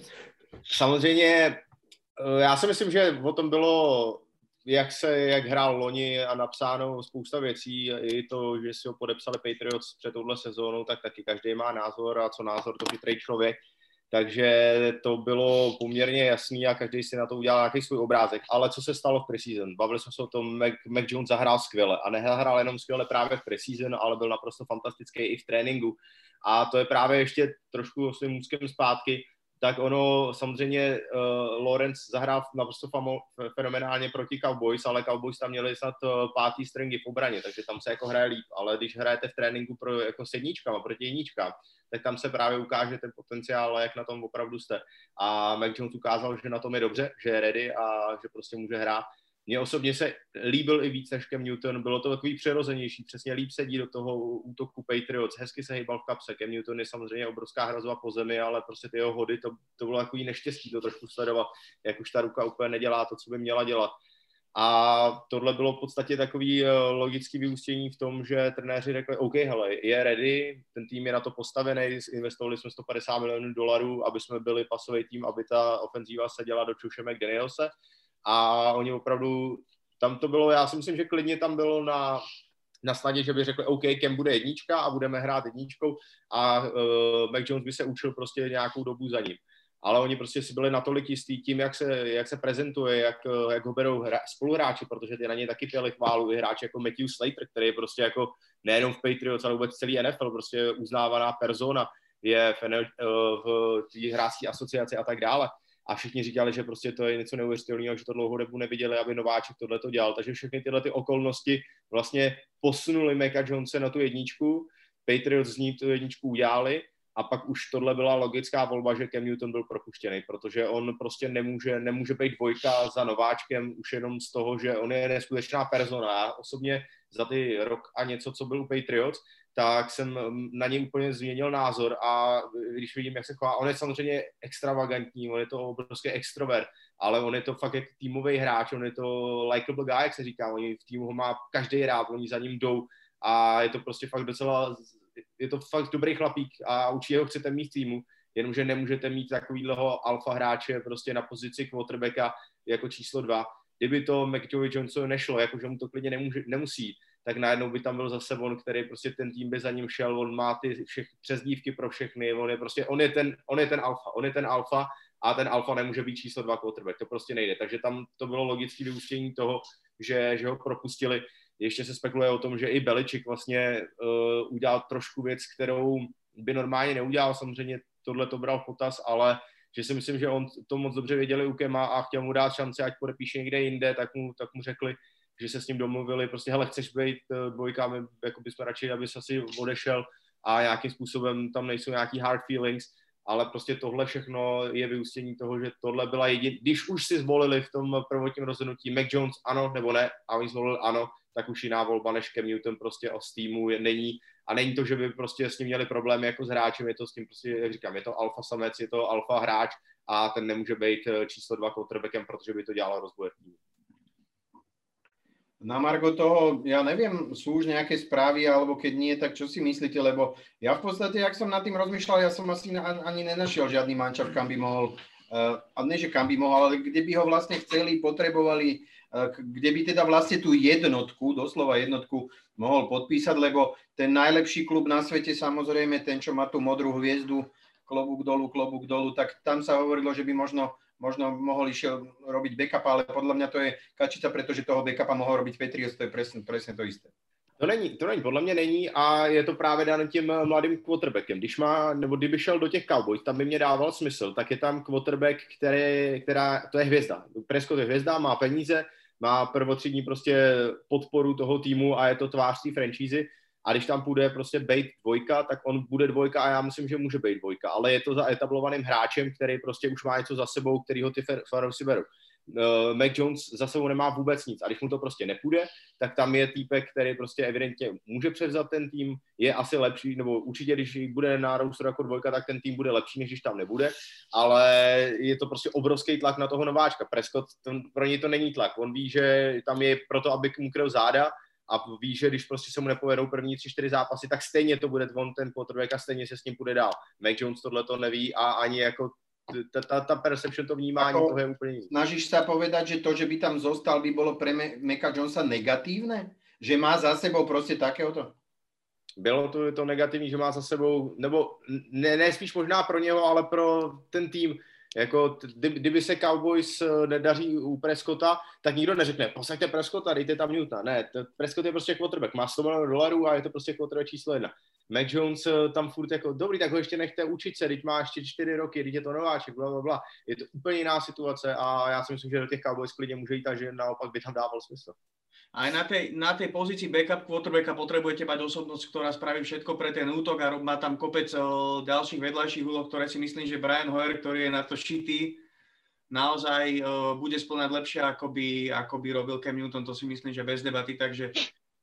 Samozřejmě, já si myslím, že o tom bylo, jak se, jak hrál loni a napsáno spousta věcí, i to, že si ho podepsali Patriots před touhle sezónou, tak taky každý má názor a co názor, to chytrý člověk. Takže to bylo poměrně jasný a každý si na to udělal nějaký svůj obrázek. Ale co se stalo v preseason? Bavili jsme se o tom, Mac, Mac Jones zahrál skvěle. A nehrál jenom skvěle právě v preseason, ale byl naprosto fantastický i v tréninku. A to je právě ještě trošku s tím můzkem zpátky. Tak ono, samozřejmě uh, Lawrence zahrál naprosto famo, fenomenálně proti Cowboys, ale Cowboys tam měli snad uh, pátý stringy v obraně, takže tam se jako hraje líp. Ale když hrajete v tréninku pro, jako s jedničkama proti jedničkám, tak tam se právě ukáže ten potenciál, jak na tom opravdu jste. A Mac Jones ukázal, že na tom je dobře, že je ready a že prostě může hrát. Mně osobně se líbil i víc než Cam Newton, bylo to takový přirozenější, přesně líp sedí do toho útoku Patriots, hezky se hýbal v kapse. Cam Newton je samozřejmě obrovská hrozba po zemi, ale prostě ty jeho hody, to, to bylo takový neštěstí to trošku sledovat, jak už ta ruka úplně nedělá to, co by měla dělat. A tohle bylo v podstatě takový logický vyústění v tom, že trenéři řekli, OK, hele, je ready, ten tým je na to postavený, investovali jsme sto padesát milionů dolarů, aby jsme byli pasový tým, aby ta ofenzíva seděla do čuše McDanielse. A oni opravdu, tam to bylo, já si myslím, že klidně tam bylo na, na snadě, že by řekli, OK, Cam bude jednička a budeme hrát jedničkou a uh, Mac Jones by se učil prostě nějakou dobu za ním. Ale oni prostě si byli natolik jistý tím, jak se, jak se prezentuje, jak, jak ho berou hra, spoluhráči, protože ty na něj taky pěli chválu, i hráči jako Matthew Slater, který je prostě jako nejenom v Patriots, ale vůbec celý N F L, prostě uznávaná persona, je v, v té hráčské asociaci a tak dále. A všichni říkali, že prostě to je něco neuvěřitelného, že to dlouhou dobu neviděli, aby nováček tohle to dělal. Takže všechny tyhle ty okolnosti vlastně posunuli Maca Jonese na tu jedničku, Patriots z ní tu jedničku udělali a pak už tohle byla logická volba, že Cam Newton byl propuštěný, protože on prostě nemůže, nemůže být dvojka za nováčkem už jenom z toho, že on je neskutečná persona. Já osobně za ty rok a něco, co byl u Patriots, tak jsem na něj úplně změnil názor a když vidím, jak se chová, on je samozřejmě extravagantní, on je to obrovský extrovert, ale on je to fakt jak týmový hráč, on je to likable guy, jak se říká, oni v týmu ho má každý rád, oni za ním jdou a je to prostě fakt docela, je to fakt dobrý chlapík a určitě ho chcete mít v týmu, jenomže nemůžete mít takovýhleho alfa hráče prostě na pozici quarterbacka jako číslo dva. Kdyby to McJoy Johnson nešlo, jakože mu to klidně nemůže, nemusí, tak najednou by tam byl zase on, který prostě ten tým by za ním šel, on má ty všech přezdívky pro všechny, on je prostě, on je ten, on je ten alfa, on je ten alfa a ten alfa nemůže být číslo dva quarterback, to prostě nejde, takže tam to bylo logické vyústění toho, že, že ho propustili. Ještě se spekuluje o tom, že i Belichick vlastně uh, udělal trošku věc, kterou by normálně neudělal, samozřejmě tohle to bral v potaz, ale že si myslím, že on to moc dobře věděli u Kema a chtěl mu dát šanci, ať podepíše někde jinde, tak mu, tak mu řekli, že se s ním domluvili, prostě hele, chceš být dvojka, my jako bychom radši, aby se asi odešel a nějakým způsobem tam nejsou nějaký hard feelings, ale prostě tohle všechno je vyústění toho, že tohle byla jediná, když už si zvolili v tom prvotním rozhodnutí Mac Jones ano nebo ne a oni zvolili ano, tak už jiná volba než Cam Newton prostě o z týmu není a není to, že by prostě s ním měli problémy jako s hráčem, je to s tím prostě, jak říkám, je to alfa samec, je to alfa hráč a ten nemůže být číslo dva quarterbackem, protože by to dělalo rozboj týmu. Na margo toho, ja neviem, sú už nejaké správy, alebo keď nie, tak čo si myslíte, lebo ja v podstate, jak som nad tým rozmýšľal, ja som asi ani nenašiel žiadny mančav, kam by mohol, uh, a ne, že kam by mohol, ale kde by ho vlastne chceli, potrebovali, uh, kde by teda vlastne tú jednotku, doslova jednotku, mohol podpísať, lebo ten najlepší klub na svete, samozrejme, ten, čo má tú modrú hviezdu, klobúk dolu, klobúk dolu, tak tam sa hovorilo, že by možno možno mohol išiel robiť backup, ale podľa mňa to je kačica, pretože toho backupa mohol robiť Patriots, to je presne, presne to isté. To není, to není, podle mě není a je to právě dáno tím mladým quarterbackem. Když má, nebo kdyby šel do těch Cowboys, tam by mě dával smysl, tak je tam quarterback, který, která, to je hvězda. Prescott je hvězda, má peníze, má prvotřídní prostě podporu toho týmu a je to tvář té franšízy. A když tam půjde prostě bejt dvojka, tak on bude dvojka a já myslím, že může být dvojka. Ale je to za etablovaným hráčem, který prostě už má něco za sebou, který ho ty fanoušci berou. Uh, Mac Jones za sebou nemá vůbec nic a když mu to prostě nepůjde, tak tam je týpek, který prostě evidentně může převzat ten tým, je asi lepší, nebo určitě, když bude na rosteru jako dvojka, tak ten tým bude lepší, než když tam nebude, ale je to prostě obrovský tlak na toho nováčka. Prescott, to, pro něj to není tlak, on ví, že tam je proto, aby mu kryl záda, a ví, že když prostě se mu nepovedou první tři, čtyři zápasy, tak stejně to bude on ten quarterback a stejně se s ním půjde dál. Mac Jones tohle to neví a ani jako ta, ta, ta perception, to vnímání ako, toho je úplně jiný. Snažíš sa povedať, že to, že by tam zostal, by bolo pre Maca Jonesa negatívne? Že má za sebou prostě takéhoto? Bylo to, to negativní, že má za sebou, nebo ne, ne spíš možná pro něho, ale pro ten tým. Jako, kdyby se Cowboys nedaří u Prescotta, tak nikdo neřekne, posaďte Prescotta, dejte tam Newtona. Ne, Prescott je prostě quarterback, má sto milionů dolarů a je to prostě quarterback číslo jedna. Mac Jones tam furt jako, dobrý, tak ho ještě nechte učit se, teď má ještě čtyři roky, teď je to nováček, bla, bla, bla. Je to úplně jiná situace a já si myslím, že do těch Cowboys klidně může jít a že naopak by tam dával smysl. Aj na tej, na tej pozícii backup quarterbacka potrebujete mať osobnosť, ktorá spraví všetko pre ten útok a má tam kopec uh, ďalších vedľajších úloh, ktoré si myslím, že Brian Hoyer, ktorý je na to šitý, naozaj uh, bude spĺňať lepšie, ako by, ako by robil Cam Newton, to si myslím, že bez debaty, takže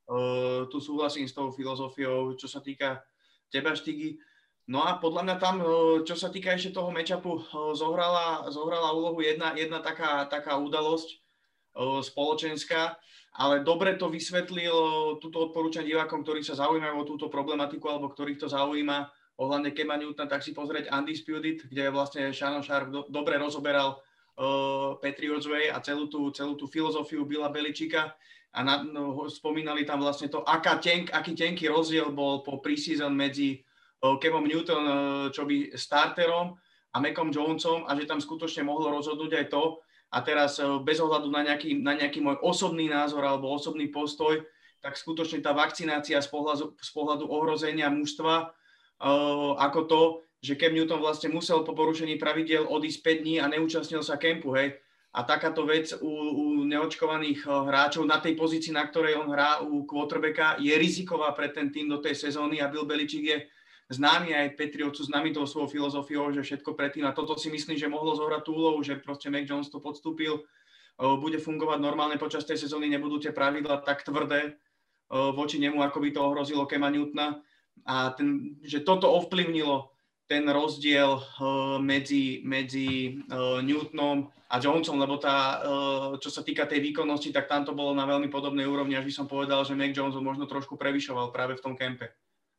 uh, tu súhlasím s tou filozofiou, čo sa týka teba, Štigy. No a podľa mňa tam, uh, čo sa týka ešte toho matchupu, uh, zohrala, zohrala úlohu jedna, jedna taká, taká udalosť uh, spoločenská, ale dobre to vysvetlil, túto odporúčam divákom, ktorí sa zaujímajú o túto problematiku alebo ktorých to zaujíma ohľadne Cama Newtona, tak si pozrieť Undisputed, kde vlastne Shannon Sharp do, dobre rozoberal uh, Patriots Way a celú tú, celú tú filozofiu Billa Belichicka a na, no, spomínali tam vlastne to, aká tenk, aký tenký rozdiel bol po preseason medzi uh, Camom Newton, uh, čo by starterom a Macom Jonesom a že tam skutočne mohlo rozhodnúť aj to. A teraz bez ohľadu na nejaký, na nejaký môj osobný názor alebo osobný postoj, tak skutočne tá vakcinácia z pohľadu, z pohľadu ohrozenia mužstva, uh, ako to, že Cam Newton vlastne musel po porušení pravidiel odísť päť dní a neúčastnil sa kempu, hej. A takáto vec u, u neočkovaných hráčov na tej pozícii, na ktorej on hrá u quarterbacka, je riziková pre ten tým do tej sezóny a Bill Belichick je známy aj Patriots sú známy tou svojou filozofiou, že všetko predtým a toto si myslím, že mohlo zohrať tú úlohu, že proste Mac Jones to podstúpil, bude fungovať normálne počas tej sezóny, nebudú tie pravidlá tak tvrdé voči nemu, ako by to ohrozilo Cama Newtona a ten, že toto ovplyvnilo ten rozdiel medzi, medzi Newtonom a Jonesom, lebo tá, čo sa týka tej výkonnosti, tak tam to bolo na veľmi podobnej úrovni, až by som povedal, že Mac Jones možno trošku prevyšoval práve v tom kempe.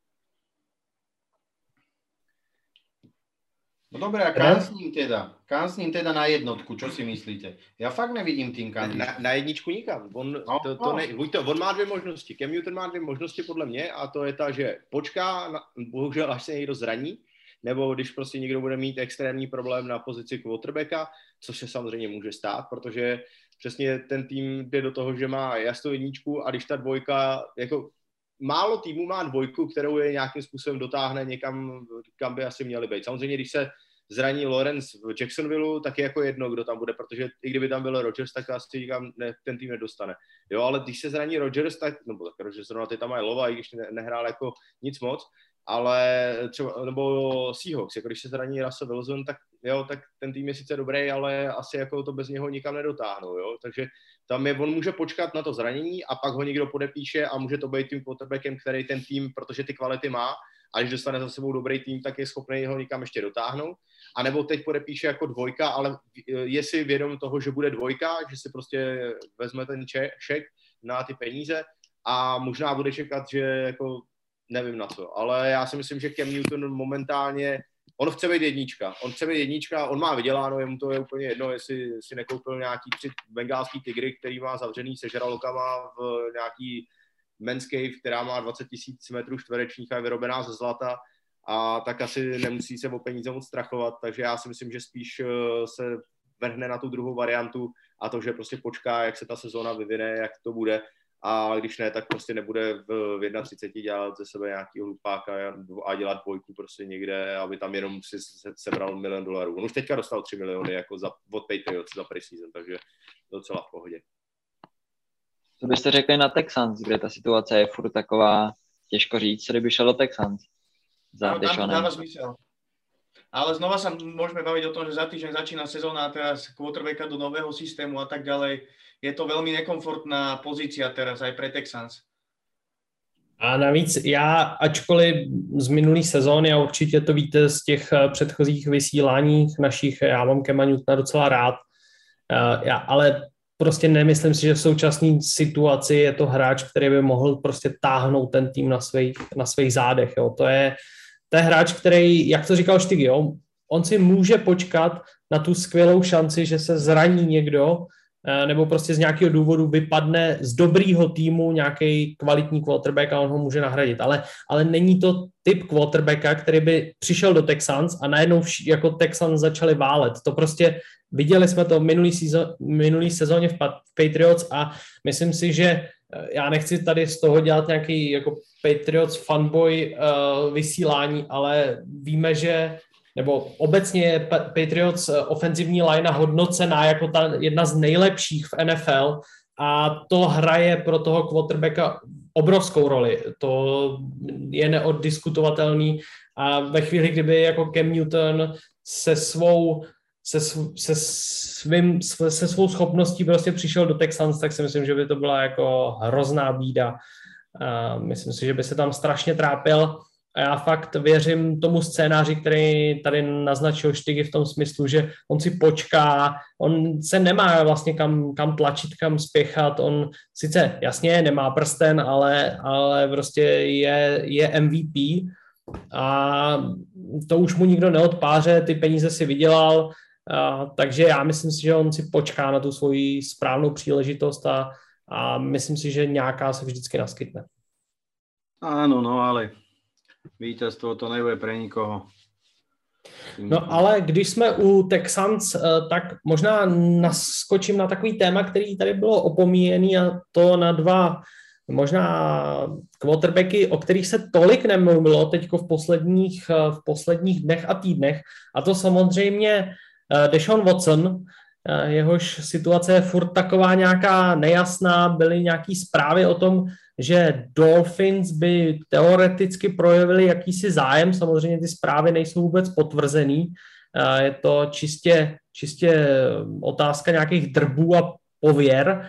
No dobré, a kam s ním teda? Kam s ním teda na jednotku, čo si myslíte? Já fakt nevidím tým kam. Na, na jedničku nikam. On, no, to, to no. ne, to, on má dvě možnosti. Cam Newton má dvě možnosti podle mě a to je ta, že počká, na, bohužel až se někdo zraní, nebo když prostě někdo bude mít extrémní problém na pozici quarterbacka, což se samozřejmě může stát, protože přesně ten tým jde do toho, že má jasnou jedničku a když ta dvojka, jako málo týmů má dvojku, kterou je nějakým způsobem dotáhne někam, kam by asi měli být. Samozřejmě, když se zraní Lawrence v Jacksonvilleu, tak je jako jedno, kdo tam bude, protože i kdyby tam byl Rodgers, tak asi nikam ne, ten tým nedostane. Jo, ale když se zraní Rodgers, tak, nebo tak Rodgers zrovna ty tam mají Lova, i když ne, nehrál jako nic moc, ale třeba, nebo Seahawks, jako když se zraní Russell Wilson, tak jo, tak ten tým je sice dobrý, ale asi jako to bez něho nikam nedotáhnou, jo, takže tam je, on může počkat na to zranění a pak ho někdo podepíše a může to být tím quarterbackem, který ten tým, protože ty kvality má, a když dostane za sebou dobrý tým, tak je schopný ho nikam ještě dotáhnout. A nebo teď podepíše jako dvojka, ale je si vědom toho, že bude dvojka, že si prostě vezme ten šek, na ty peníze a možná bude čekat, že jako nevím na co, ale já si myslím, že Cam Newton momentálně, on chce být jednička, on chce být jednička, on má vyděláno, jemu to je úplně jedno, jestli si nekoupil nějaký tři bengálský tygry, který má zavřený se žralokama v nějaký men's cave, která má dvacet tisíc metrů čtverečních a je vyrobená ze zlata, a tak asi nemusí se o peníze moc strachovat, takže já si myslím, že spíš se vrhne na tu druhou variantu a to, že prostě počká, jak se ta sezóna vyvine, jak to bude, a když ne, tak prostě nebude v třicet jedna dělat ze sebe nějaký hlupáka a dělat dvojku prostě někde, aby tam jenom si sebral milion dolarů. On už teďka dostal tři miliony jako za, od Patriots za preseason, takže docela v pohodě. Co byste řekli na Texans, kde ta situace je furt taková, těžko říct, co kdyby šel do Texans? Za no, tam dáva zmysel. Ale znova sa môžeme baviť o tom, že za týždeň začína sezóna a teraz quarterbacka do nového systému a tak ďalej. Je to veľmi nekomfortná pozícia teraz aj pre Texans. A navíc já, ačkoliv z minulý sezóny, a určitě to víte z těch předchozích vysíláních našich, já mám Cama Newtona docela rád, já, ale prostě nemyslím si, že v současné situaci je to hráč, který by mohl prostě táhnout ten tým na svých, na svých zádech. Jo. To je To je hráč, který, jak to říkal Štygy, jo, on si může počkat na tu skvělou šanci, že se zraní někdo, nebo prostě z nějakého důvodu vypadne z dobrýho týmu nějaký kvalitní quarterback a on ho může nahradit. Ale, ale není to typ quarterbacka, který by přišel do Texans a najednou vš- jako Texans začali válet. To prostě viděli jsme to v minulý, sezó- minulý sezóně v Patriots a myslím si, že já nechci tady z toho dělat nějaký jako Patriots fanboy uh, vysílání, ale víme, že nebo obecně je Patriots ofenzivní linea hodnocená jako ta jedna z nejlepších v N F L a to hraje pro toho quarterbacka obrovskou roli. To je neoddiskutovatelný a ve chvíli, kdyby jako Cam Newton se svou se, se, svým, se svou schopností prostě přišel do Texans, tak si myslím, že by to byla jako hrozná bída. A myslím si, že by se tam strašně trápil. A já fakt věřím tomu scénáři, který tady naznačil Štygy v tom smyslu, že on si počká, on se nemá vlastně kam, kam tlačit, kam spěchat, on sice jasně nemá prsten, ale, ale prostě je, je M V P a to už mu nikdo neodpáře, ty peníze si vydělal, a, takže já myslím si, že on si počká na tu svoji správnou příležitost a, a myslím si, že nějaká se vždycky naskytne. Áno, no ale vítězstvo to nebude pre nikoho. No ale když jsme u Texans, tak možná naskočím na takový téma, který tady bylo opomíjený a to na dva možná quarterbacky, o kterých se tolik nemluvilo teďko v posledních, v posledních dnech a týdnech. A to samozřejmě Deshaun Watson, jehož situace je furt taková nějaká nejasná, byly nějaký zprávy o tom, že Dolphins by teoreticky projevili jakýsi zájem, samozřejmě ty zprávy nejsou vůbec potvrzený, je to čistě, čistě otázka nějakých drbů a pověr,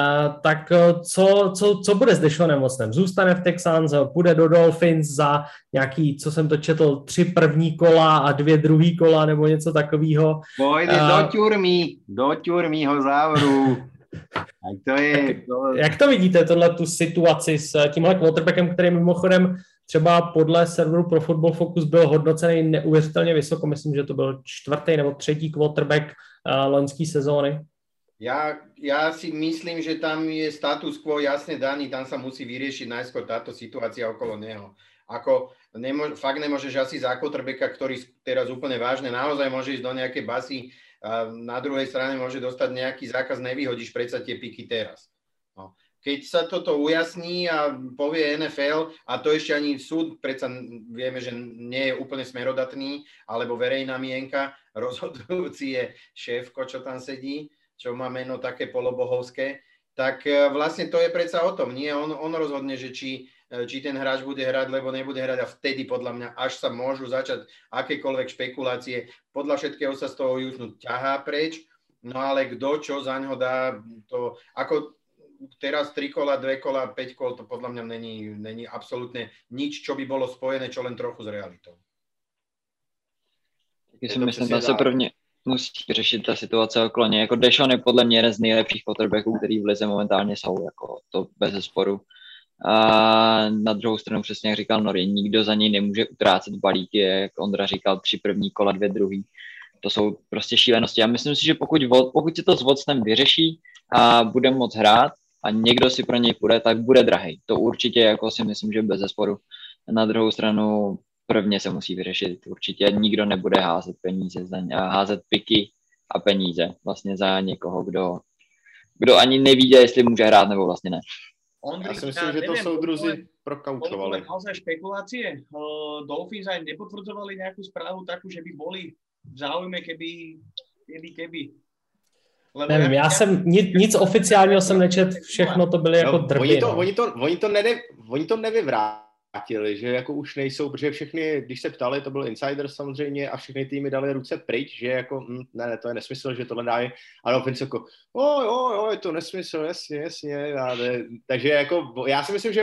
tak co, co, co bude s Deshaunem Watsonem? Zůstane v Texans, půjde do Dolphins za nějaký, co jsem to četl, tři první kola a dvě druhý kola nebo něco takového. Pojde uh, do ťurmy, do ťurmy ho zavru. Tak to je, to... Jak to vidíte, tohle tu situaci s tímhle quarterbackem, který mimochodem třeba podle serveru Pro Football Focus byl hodnocený neuvěřitelně vysoko, myslím, že to byl čtvrtý nebo třetí quarterback uh, loňský sezóny? Ja, ja si myslím, že tam je status quo jasne daný, tam sa musí vyriešiť najskôr táto situácia okolo neho. Ako nemo, fakt nemôžeš asi za quarterbacka, ktorý teraz úplne vážne, naozaj môže ísť do nejakej basy, a na druhej strane môže dostať nejaký zákaz, nevyhodíš predsa tie piky teraz. No. Keď sa toto ujasní a povie N F L, a to ešte ani súd, predsa vieme, že nie je úplne smerodatný, alebo verejná mienka, rozhodujúci je šéfko, čo tam sedí, čo má meno také polobohovské, tak vlastne to je predsa o tom. Nie, on, on rozhodne, že či, či ten hráč bude hrať, lebo nebude hrať a vtedy podľa mňa až sa môžu začať akékoľvek špekulácie. Podľa všetkého sa z toho Houstonu ťahá preč, no ale kto čo za ňo dá, to ako teraz tri kola, dve kola, päť kol, to podľa mňa není, není absolútne nič, čo by bolo spojené, čo len trochu s realitou. Taky si myslím, že se prvně musí řešit ta situace okolo něj. Jako Deshaun je podle mě jeden z nejlepších quarterbacků, který v lize momentálně jsou, jako to bez zesporu. A na druhou stranu, přesně jak říkal Nori, nikdo za něj nemůže utrácet balíky, jak Ondra říkal, tři první kola, dvě druhý. To jsou prostě šílenosti. Já myslím si, že pokud, pokud se to s Watsonem vyřeší a bude moc hrát a někdo si pro něj půjde, tak bude drahej. To určitě jako si myslím, že bez zesporu. Na druhou stranu prvně se musí vyřešit. Určitě nikdo nebude házet peníze, za, házet piky a peníze vlastně za někoho, kdo, kdo ani neví, jestli může hrát nebo vlastně ne. Ondrik, ja si myslím, ja že to soudruzi prokaučovali. Boli naozaj špekulácie? Uh, Dolphins aj nepotvrdzovali nejakú správu takú, že by boli v záujme, keby, keby, keby. Lebo nevím, já, já jsem, nic, nic oficiálního jsem nečet, všechno to byly jako no, drby. Oni to, no. oni to, oni to, nene, oni to nevyvrátili, že jako už nejsou, protože všechny, když se ptali, to byl insider samozřejmě a všechny týmy dali ruce pryč, že jako, hm, ne, ne, to je nesmysl, že tohle dají, ale Dolphins jako, oj, oj, oj, to nesmysl, jasně, jasně, ne, takže jako, já si myslím, že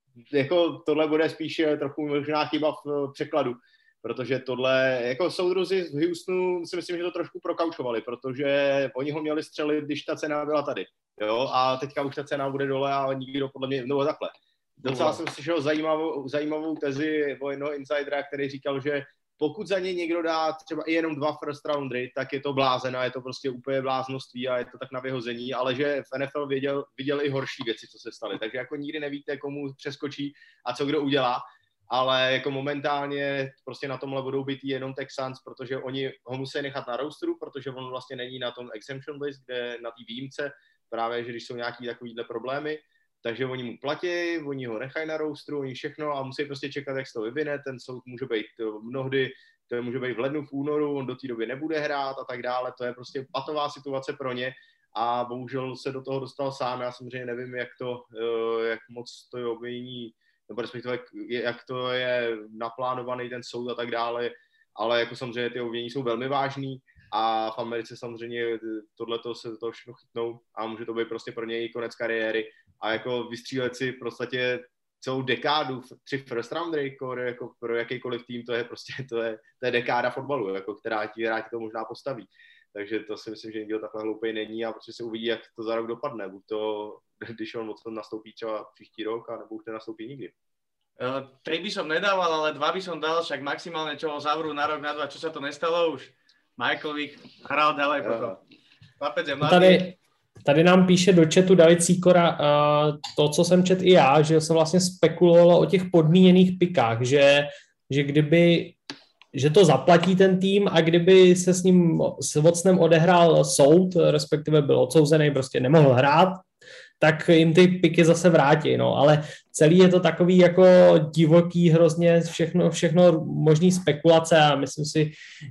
jako tohle bude spíš trochu možná chyba v překladu, protože tohle, jako soudruzi z Houstonu si myslím, že to trošku prokaučovali, protože oni ho měli střelit, když ta cena byla tady, jo, a teďka už ta cena bude dole a nikdo podle mě, no takhle. Docela no. jsem slyšel zajímavou, zajímavou tezi o jednoho insidera, který říkal, že pokud za ně někdo dá třeba i jenom dva first roundery, tak je to blázen a je to prostě úplně bláznoství a je to tak na vyhození, ale že v N F L viděl, viděl i horší věci, co se staly, takže jako nikdy nevíte, komu přeskočí a co kdo udělá. Ale jako momentálně prostě na tomhle budou být jenom Texans, protože oni ho musí nechat na rosteru, protože on vlastně není na tom exemption list, kde na té výjimce, právě, že když jsou nějaký takovýhle problémy, takže oni mu platí, oni ho nechají na rosteru, oni všechno a musí prostě čekat, jak se to vyvine, ten soud může být mnohdy, to může být v lednu, v únoru, on do té doby nebude hrát a tak dále, to je prostě patová situace pro ně a bohužel se do toho dostal sám, já samozřejmě nevím, jak to, jak moc to je obvinění, nebo respektive jak to je naplánovaný ten soud a tak dále, ale jako samozřejmě ty obvinění jsou velmi vážný a v Americe samozřejmě tohleto se to všechno chytnou a může to být prostě pro něj konec kariéry a jako vystřílet si v podstatě celou dekádu, tři first roundery, jako pro jakýkoliv tým, to je prostě, to je, to je dekáda fotbalu, jako která ti, která ti to možná postaví. Takže to si myslím, že nikdo takhle hloupej není a prostě se uvidí, jak to za rok dopadne. Buď to, když on moc nastoupí třeba příští rok, a nebo už nenastoupí nikdy. Uh, tri by som nedával, ale dva by som dal, však maximálne čo ho zavrú na rok, na dva, čo sa to nestalo už. Michael Vick hral ďalej potom. Chlapec je mladý. Tady, tady nám píše do chatu David Sýkora uh, to, co jsem čet i já, že se vlastně spekulovalo o těch podmíněných pikách, že, že kdyby že to zaplatí ten tým a kdyby se s ním s Watsonem odehrál soud, respektive byl odsouzený, prostě nemohl hrát, tak jim ty piky zase vrátí, no, ale celý je to takový jako divoký, hrozně všechno, všechno možný spekulace a myslím si,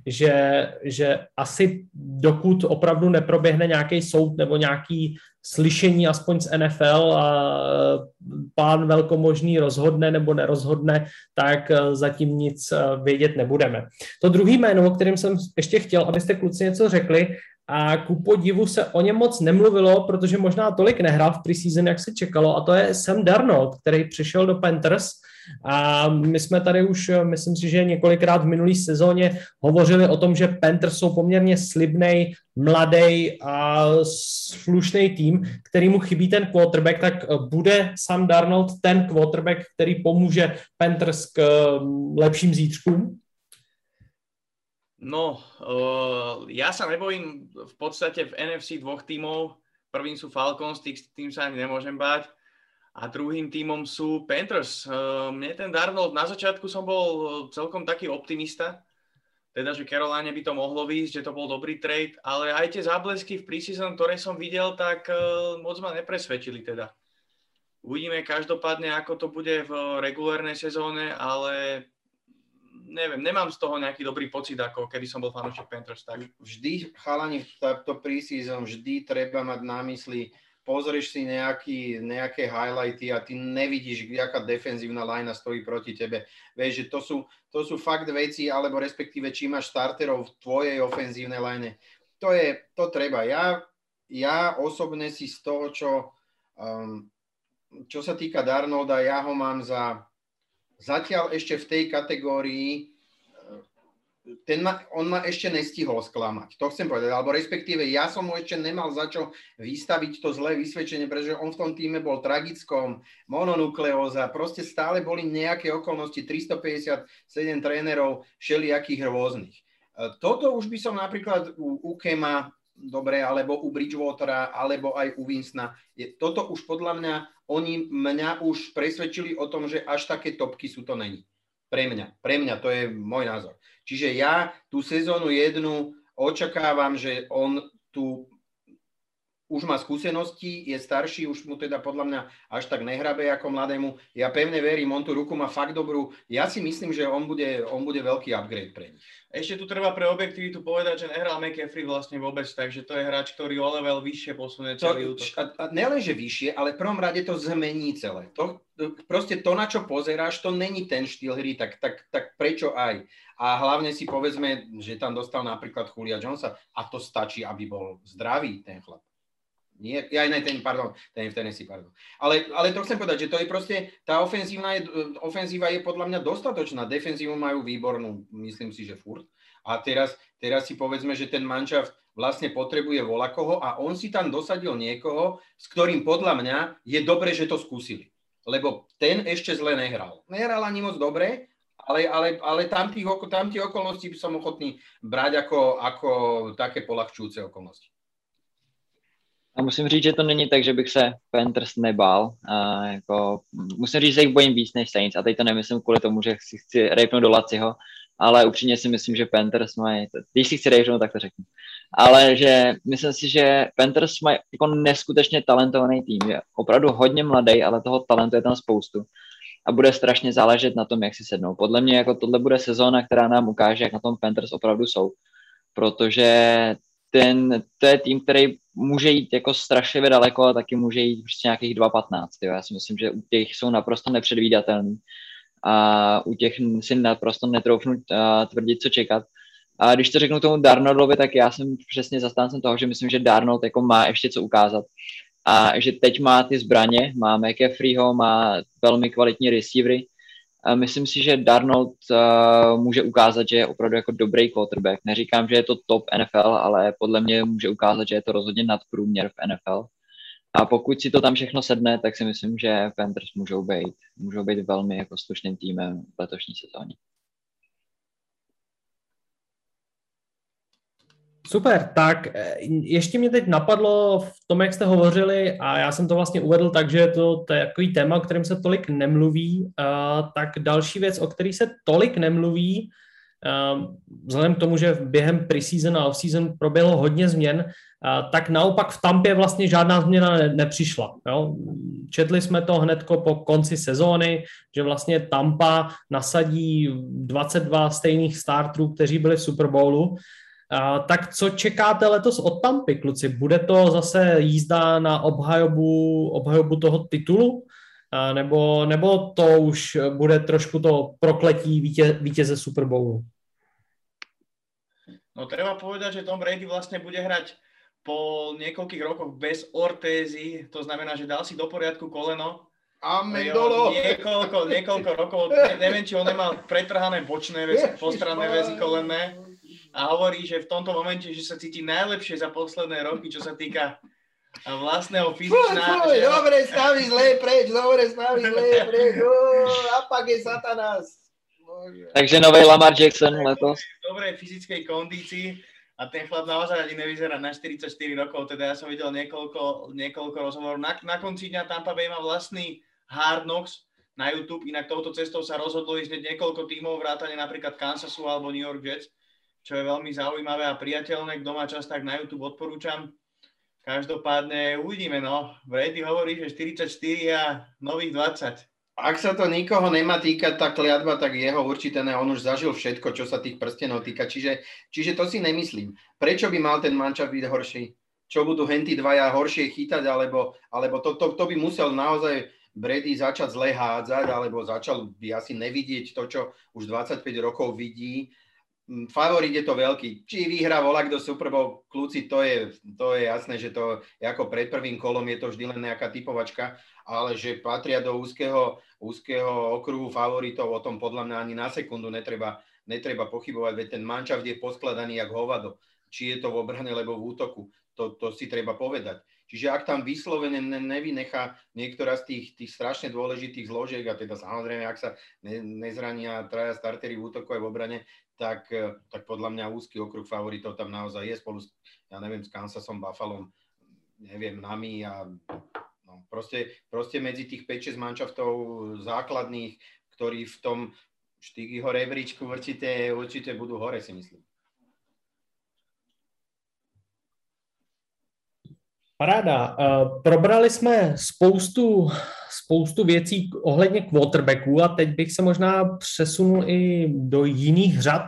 že, že asi dokud opravdu neproběhne nějaký soud nebo nějaký slyšení aspoň z N F L a pán velkomožný rozhodne nebo nerozhodne, tak zatím nic vědět nebudeme. To druhý jméno, o kterém jsem ještě chtěl, abyste kluci něco řekli, a ku podivu se o něm moc nemluvilo, protože možná tolik nehrál v preseason, jak se čekalo, a to je Sam Darnold, který přišel do Panthers. A my jsme tady už, myslím si, že několikrát v minulý sezóně hovořili o tom, že Panthers jsou poměrně slibnej, mladý a slušný tým, kterýmu chybí ten quarterback, tak bude Sam Darnold ten quarterback, který pomůže Panthers k lepším zítřkům? No, uh, ja sa nebojím v podstate v N F C dvoch tímov. Prvým sú Falcons, tým sa ani nemôžem báť. A druhým tímom sú Panthers. Uh, mne ten Darnold, na začiatku som bol celkom taký optimista, teda, že Caroline by to mohlo výjsť, že to bol dobrý trade, ale aj tie záblesky v preseason, ktoré som videl, tak uh, moc ma nepresvedčili teda. Uvidíme každopádne, ako to bude v regulárnej sezóne, ale neviem, nemám z toho nejaký dobrý pocit, ako keby som bol fanúšik Panthers. Tak. Vždy, chalani, v to preseason, vždy treba mať na mysli, pozrieš si nejaký, nejaké highlighty a ty nevidíš, aká defenzívna linea stojí proti tebe. Vieš, že to sú, to sú fakt veci, alebo respektíve, či máš starterov v tvojej ofenzívnej line. To je, to treba. Ja, ja osobne si z toho, čo, um, čo sa týka Darnolda, ja ho mám za... Zatiaľ ešte v tej kategórii ten ma, on ma ešte nestihol sklamať. To chcem povedať, alebo respektíve ja som mu ešte nemal za čo vystaviť to zlé vysvedčenie, pretože on v tom týme bol tragickom, mononukleóza, proste stále boli nejaké okolnosti, tristopäťdesiatsedem trénerov, všelijakých rôznych. Toto už by som napríklad u, u Kema, dobre, alebo u Bridgewatera, alebo aj u Winstona, toto už podľa mňa, oni mňa už presvedčili o tom, že až také topky sú to není. Pre mňa, pre mňa, to je môj názor. Čiže ja tú sezónu jednu očakávam, že on tu už má skúsenosti, je starší, už mu teda podľa mňa až tak nehrabe ako mladému. Ja pevne verím, on tú ruku má fakt dobrú. Ja si myslím, že on bude, on bude veľký upgrade pre nich. Ešte tu treba pre objektivitu povedať, že nehral McCaffrey vlastne vôbec, takže to je hráč, ktorý o level vyššie posunie celý útok. A, a nelenže vyššie, ale v prvom rade to zmení celé. To, proste to, na čo pozeráš, to není ten štýl hry, tak, tak, tak prečo aj? A hlavne si povedzme, že tam dostal napríklad Julia Jonesa a to stačí, aby bol zdravý ten chlap. Nie, ja aj ten, pardon, ten v Tennessee, pardon. Ale, ale to chcem povedať, že to je proste, tá ofenzíva je, ofenzíva je podľa mňa dostatočná, defenzívu majú výbornú, myslím si, že furt. A teraz, teraz si povedzme, že ten manšaft vlastne potrebuje volakoho a on si tam dosadil niekoho, s ktorým podľa mňa je dobre, že to skúsili. Lebo ten ešte zle nehral. Nehral ani moc dobre, ale, ale, ale tam tých, tam tých okolností by som ochotný brať ako, ako také poľahčujúce okolnosti. A musím říct, že to není tak, že bych se Panthers nebál. A jako, musím říct, že jich bojím víc než Saints. A teď to nemyslím kvůli tomu, že si chci rejpnout do Laciho, ale upřímně si myslím, že Panthers mají, když si chci rejpnout, tak to řeknu. Ale že myslím si, že Panthers mají jako neskutečně talentovaný tým. Je opravdu hodně mladý, ale toho talentu je tam spoustu. A bude strašně záležet na tom, jak si sednou. Podle mě jako tohle bude sezóna, která nám ukáže, jak na tom Panthers opravdu jsou. Protože ten, to je tým, který může jít jako strašlivě daleko a taky může jít prostě nějakých dva patnáct. Jo. Já si myslím, že u těch jsou naprosto nepředvídatelný a u těch si naprosto netroufnu uh, tvrdit, co čekat. A když to řeknu tomu Darnoldovi, tak já jsem přesně zastáncem toho, že myslím, že Darnold jako má ještě co ukázat. A že teď má ty zbraně, má McCaffreyho, má velmi kvalitní receivery. A myslím si, že Darnold uh, může ukázat, že je opravdu jako dobrý quarterback. Neříkám, že je to top N F L, ale podle mě může ukázat, že je to rozhodně nadprůměr v N F L. A pokud si to tam všechno sedne, tak si myslím, že Panthers můžou být, můžou být velmi jako slušným týmem v letošní sezóně. Super, tak ještě mě teď napadlo v tom, jak jste hovořili, a já jsem to vlastně uvedl tak, že to, to je takový téma, o kterém se tolik nemluví, uh, tak další věc, o který se tolik nemluví, uh, vzhledem k tomu, že během preseason a offseason proběhlo hodně změn, uh, tak naopak v Tampě vlastně žádná změna ne, nepřišla. Jo? Četli jsme to hnedko po konci sezóny, že vlastně Tampa nasadí dvacet dva stejných starterů, kteří byli v Super Bowlu. Uh, tak co čekáte letos od Tampy, kluci? Bude to zase jízda na obhajobu, obhajobu toho titulu? Uh, nebo, nebo to už bude trošku to prokletí vítěze, vítěze Super Bowlu? No treba povedať, že Tom Brady vlastne bude hrať po niekoľkých rokoch bez ortézy, to znamená, že dal si do poriadku koleno. Amendolo! Niekoľko, niekoľko rokov, ne, neviem, či on nemal pretrhané bočné väzy, postranné väzy kolenné. A hovorí, že v tomto momente, že sa cíti najlepšie za posledné roky, čo sa týka vlastného fyzičná. Fuj, fuj, že... Dobre, staví zlé preč, dobre, staví zlé preč. Apak je satanás. Bože. Takže nový Lamar Jackson letos. V dobrej fyzickej kondícii a ten chlap naozaj ani nevyzerá na štyridsaťštyri rokov, teda ja som videl niekoľko, niekoľko rozhovorov. Na, na konci dňa Tampa Bay má vlastný Hard Knocks na YouTube, inak touto cestou sa rozhodlo ísť niekoľko tímov, vrátane napríklad Kansasu alebo New York Jets, čo je veľmi zaujímavé a priateľné. Kto má čas, tak na YouTube odporúčam. Každopádne uvidíme, no. Brady hovorí, že štyridsaťštyri a nových dvadsať. Ak sa to nikoho nemá týkať, tá kliatba, tak jeho určite ne. On už zažil všetko, čo sa tých prstenov týka. Čiže, čiže to si nemyslím. Prečo by mal ten mančaft byť horší? Čo budú henty dvaja horšie chytať? Alebo, alebo to, to, to by musel naozaj Brady začať zle hádzať, alebo začal by asi nevidieť to, čo už dvadsaťpäť rokov vidí. Favorit je to veľký. Či vyhrá volák do Super Bowl, kľúci, to je, to je jasné, že to ako pred prvým kolom je to vždy len nejaká typovačka, ale že patria do úzkeho, úzkeho okruhu favoritov, o tom podľa mňa ani na sekundu netreba, netreba pochybovať, veď ten manšaft je poskladaný jak hovado. Či je to v obrane, alebo v útoku. To, to si treba povedať. Čiže ak tam vyslovene nevynechá niektorá z tých, tých strašne dôležitých zložiek, a teda samozrejme, ak sa ne, nezrania traja startery v útoku aj v obrane, tak, tak podľa mňa úzky okruh favoritov tam naozaj je spolu s, ja neviem, s Kansasom, Buffalom, neviem, nami a no, proste, proste medzi tých päť šesť manšaftov základných, ktorí v tom Štygyho rebríčku určite, určite budú hore, si myslím. Paráda. Probrali jsme spoustu, spoustu věcí ohledně quarterbacků a teď bych se možná přesunul i do jiných řad,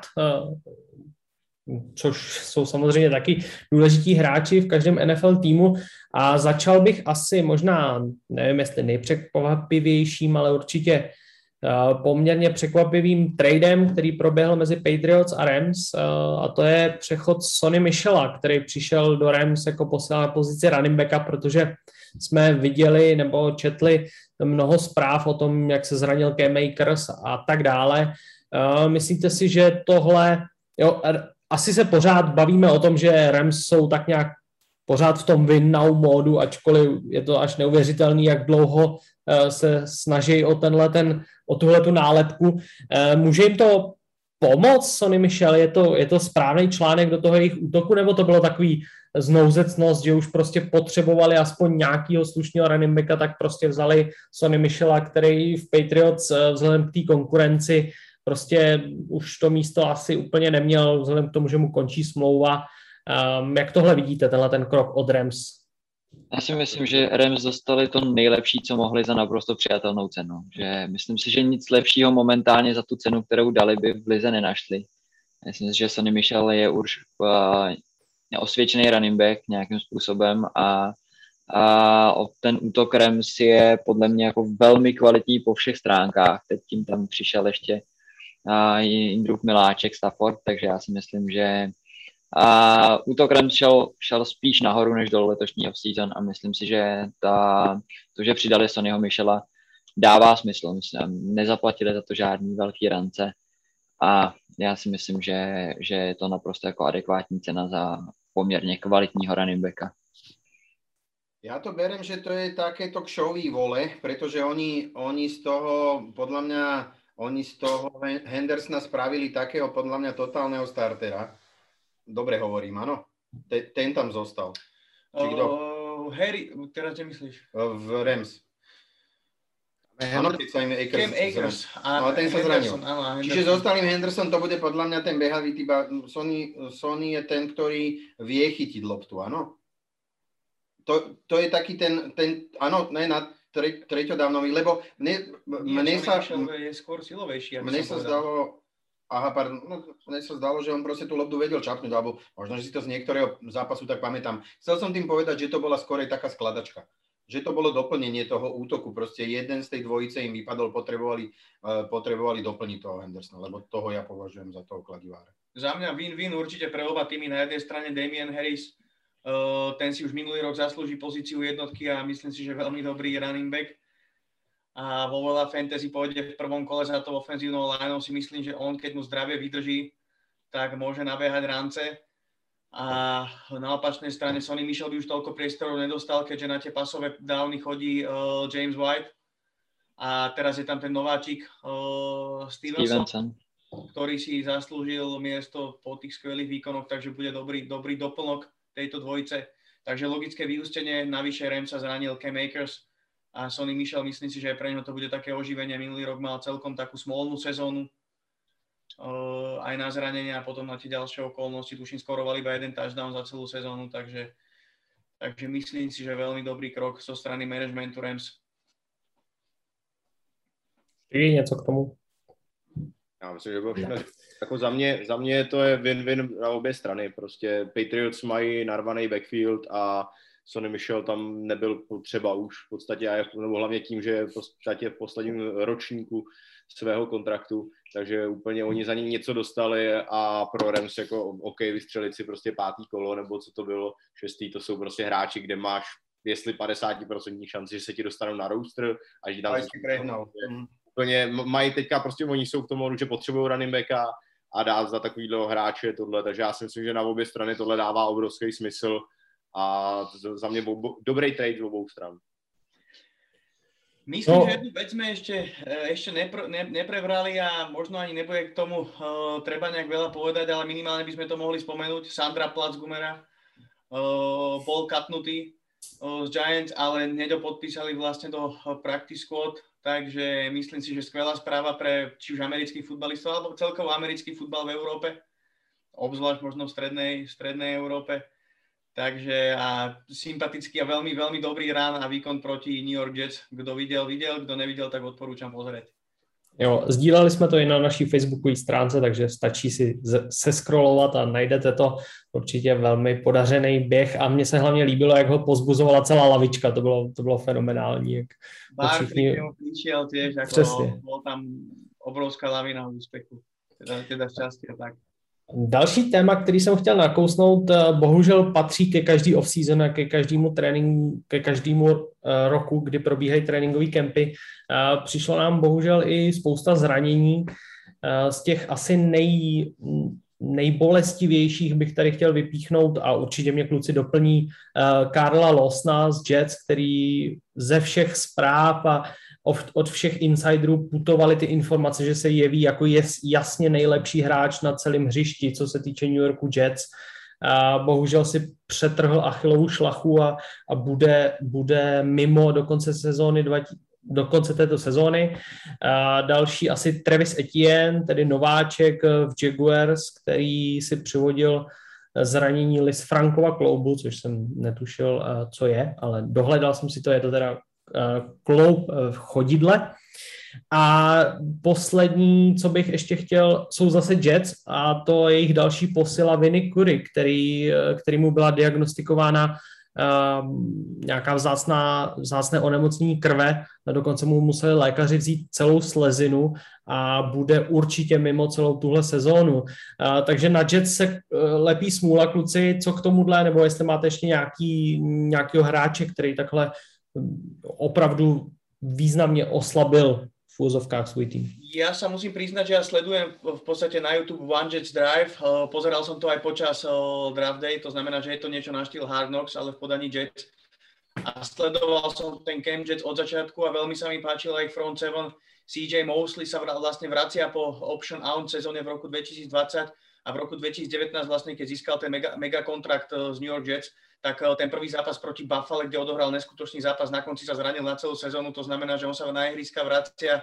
což jsou samozřejmě taky důležití hráči v každém N F L týmu a začal bych asi možná, nevím jestli nejpřekvapivějším, ale určitě poměrně překvapivým tradem, který proběhl mezi Patriots a Rams, a to je přechod Sonny Michela, který přišel do Rams jako posílá na pozici running backa, protože jsme viděli nebo četli mnoho zpráv o tom, jak se zranil Cam Akers a tak dále. Myslíte si, že tohle, jo, asi se pořád bavíme o tom, že Rams jsou tak nějak pořád v tom win now módu, ačkoliv je to až neuvěřitelný, jak dlouho se snaží o tenhle ten, o tuhletu nálepku. Může jim to pomoct, Sonny Michel? Je to, je to správný článek do toho jejich útoku, nebo to bylo takový znouzecnost, že už prostě potřebovali aspoň nějakýho slušného running backa, tak prostě vzali Sonny Michela, který v Patriots vzhledem k té konkurenci prostě už to místo asi úplně neměl, vzhledem k tomu, že mu končí smlouva. Um, jak tohle vidíte, tenhle ten krok od Rams? Já si myslím, že Rams dostali to nejlepší, co mohli za naprosto přijatelnou cenu. Že myslím si, že nic lepšího momentálně za tu cenu, kterou dali, by v lize nenašli. Myslím si, že Sonny Michel je už uh, osvědčený running back nějakým způsobem a, a ten útok Rams je podle mě jako velmi kvalitní po všech stránkách. Teď tím tam přišel ještě uh, Jindrův miláček Stafford, takže já si myslím, že a útok Rams šel, šel spíš nahoru než dolů letošní off-season a myslím si, že ta, to, že přidali Sonnyho Michela, dává smysl. Myslím, nezaplatili za to žádný velký rance a já si myslím, že, že je to naprosto jako adekvátní cena za poměrně kvalitního running backa. Ja to berem, že to je takéto kšový vole, pretože oni, oni z toho, podľa mňa, oni z toho Hendersona spravili takého, podľa mňa, totálneho startera. Dobre hovorím, áno. Ten, ten tam zostal. Či kto? Uh, Harry, teraz čo myslíš? V Rams. Áno, keď sa im Akers, Cam Akers. Ale ten sa zranil. Áno, čiže zostal im Henderson, to bude podľa mňa ten behavý typ. Sonny, Sonny je ten, ktorý vie chytiť loptu, áno? To, to je taký ten, ten áno, ne na tre, treťodávnový, lebo mne, mne sa... je skôr silovejší. Mne sa zdalo... Aha, pardon, no, mne sa zdalo, že on proste tú loptu vedel čapnúť, alebo možno, že si to z niektorého zápasu tak pamätám. Chcel som tým povedať, že to bola skôr taká skladačka. Že to bolo doplnenie toho útoku. Proste jeden z tej dvojice im vypadol, potrebovali, uh, potrebovali doplniť toho Hendersona, lebo toho ja považujem za toho kladivára. Za mňa win-win určite pre oba týmy. Na jednej strane Damien Harris, uh, ten si už minulý rok zaslúži pozíciu jednotky a myslím si, že veľmi dobrý running back. A vo veľa fantasy pôjde v prvom kole za to ofenzívnou lineou, si myslím, že on, keď mu zdravie vydrží, tak môže nabehať rance. A na opačnej strane Sonny Michel by už toľko priestorov nedostal, keďže na tie pasové downy chodí uh, James White. A teraz je tam ten nováčik uh, Stevenson, Stevenson, ktorý si zaslúžil miesto po tých skvelých výkonoch, takže bude dobrý, dobrý doplnok tejto dvojice. Takže logické vyústenie, navyše Rams sa zranil Cam Akers, a Sonny Michel, myslím si, že pre neho to bude také oživenie. Minulý rok mal celkom takú smolnú sezónu, uh, aj na zranenia a potom na tie ďalšie okolnosti. Tuším, skoroval iba jeden touchdown za celú sezónu, takže, takže myslím si, že veľmi dobrý krok zo strany managementu Rams. Je něco k tomu? Já myslím, že bylo všechno. Jako za mě, za mě to je win-win na obě strany. Prostě Patriots mají narvaný backfield a Sonny Michel tam nebyl potřeba už v podstatě, nebo hlavně tím, že je v podstatě v posledním ročníku svého kontraktu, takže úplně oni za ním něco dostali a pro Rams jako OK, vystřelit si prostě pátý kolo, nebo co to bylo, šestý, to jsou prostě hráči, kde máš jestli padesát procent šanci, že se ti dostanou na roster a že tam si prehnal. Úplně mají teďka prostě, oni jsou k tomu, že potřebují running backa a dát za takovýhle hráče tohle, takže já si myslím, že na obě strany tohle dává obrovský smysl a za mě bo, dobrý trade z obou stran. Myslím, no. že jednu vec sme ešte, ešte nepr, ne, neprebrali a možno ani nebude k tomu uh, treba nejak veľa povedať, ale minimálne by sme to mohli spomenúť. Sandra Platz-Gumera uh, bol katnutý uh, z Giants, ale hneď ho podpísali vlastne do uh, practice squad, takže myslím si, že skvelá správa pre či už amerických futbalistov, alebo celkovo americký futbal v Európe, obzvlášť možno v strednej, strednej Európe. Takže a sympatický a veľmi, veľmi dobrý rán a výkon proti New York Jets. Kdo viděl, viděl, kdo neviděl, tak odporúčam pozrieť. Jo, sdíleli jsme to i na naší facebookové stránce, takže stačí si seskrolovat a najdete to. Určitě velmi podařený běh a mně se hlavně líbilo, jak ho pozbuzovala celá lavička, to bylo, to bylo fenomenální. Jak Barkley všichni... přišel tiež, ako bol tam obrovská lavina úspěchu, teda, teda šťastie tak. Další téma, který jsem chtěl nakousnout, bohužel patří ke každý off-season a ke každému tréninku, ke každému roku, kdy probíhají tréninkové kempy. Přišlo nám bohužel i spousta zranění. Z těch asi nej, nejbolestivějších bych tady chtěl vypíchnout a určitě mě kluci doplní Karla Lawsona z Jets, který ze všech zpráv a od všech insiderů putovaly ty informace, že se jeví jako je jasně nejlepší hráč na celém hřišti, co se týče New Yorku Jets. A bohužel si přetrhl Achillovu šlachu a, a bude, bude mimo do konce sezóny, do konce této sezóny. A další asi Travis Etienne, tedy nováček v Jaguars, který si přivodil zranění Lisfrankova kloubu, což jsem netušil, co je, ale dohledal jsem si to, je to teda kloub v chodidle. A poslední, co bych ještě chtěl, jsou zase Jets a to je jejich další posila Vinny Curry, který, který mu byla diagnostikována uh, nějaká vzácná, vzácné onemocnění krve, a dokonce mu museli lékaři vzít celou slezinu a bude určitě mimo celou tuhle sezónu. Uh, takže na Jets se uh, lepí smůla, kluci, co k tomuhle, nebo jestli máte ještě nějaký, nějakýho hráče, který takhle opravdu významne oslabil v úzovkách svoj tým. Ja sa musím priznať, že ja sledujem v podstate na YouTube One Jets Drive. Pozeral som to aj počas draft day, to znamená, že je to niečo na štýl Hard Knocks, ale v podaní Jets. A sledoval som ten camp Jets od začiatku a veľmi sa mi páčil aj front seven. C J Mosley sa vlastne vracia po option out sezóne v roku dvetisícdvadsať a v roku dvetisícdevätnásť vlastne, keď získal ten mega, mega kontrakt z New York Jets, tak ten prvý zápas proti Buffalo, kde odohral neskutočný zápas, na konci sa zranil na celú sezónu, to znamená, že on sa na ihriska vracia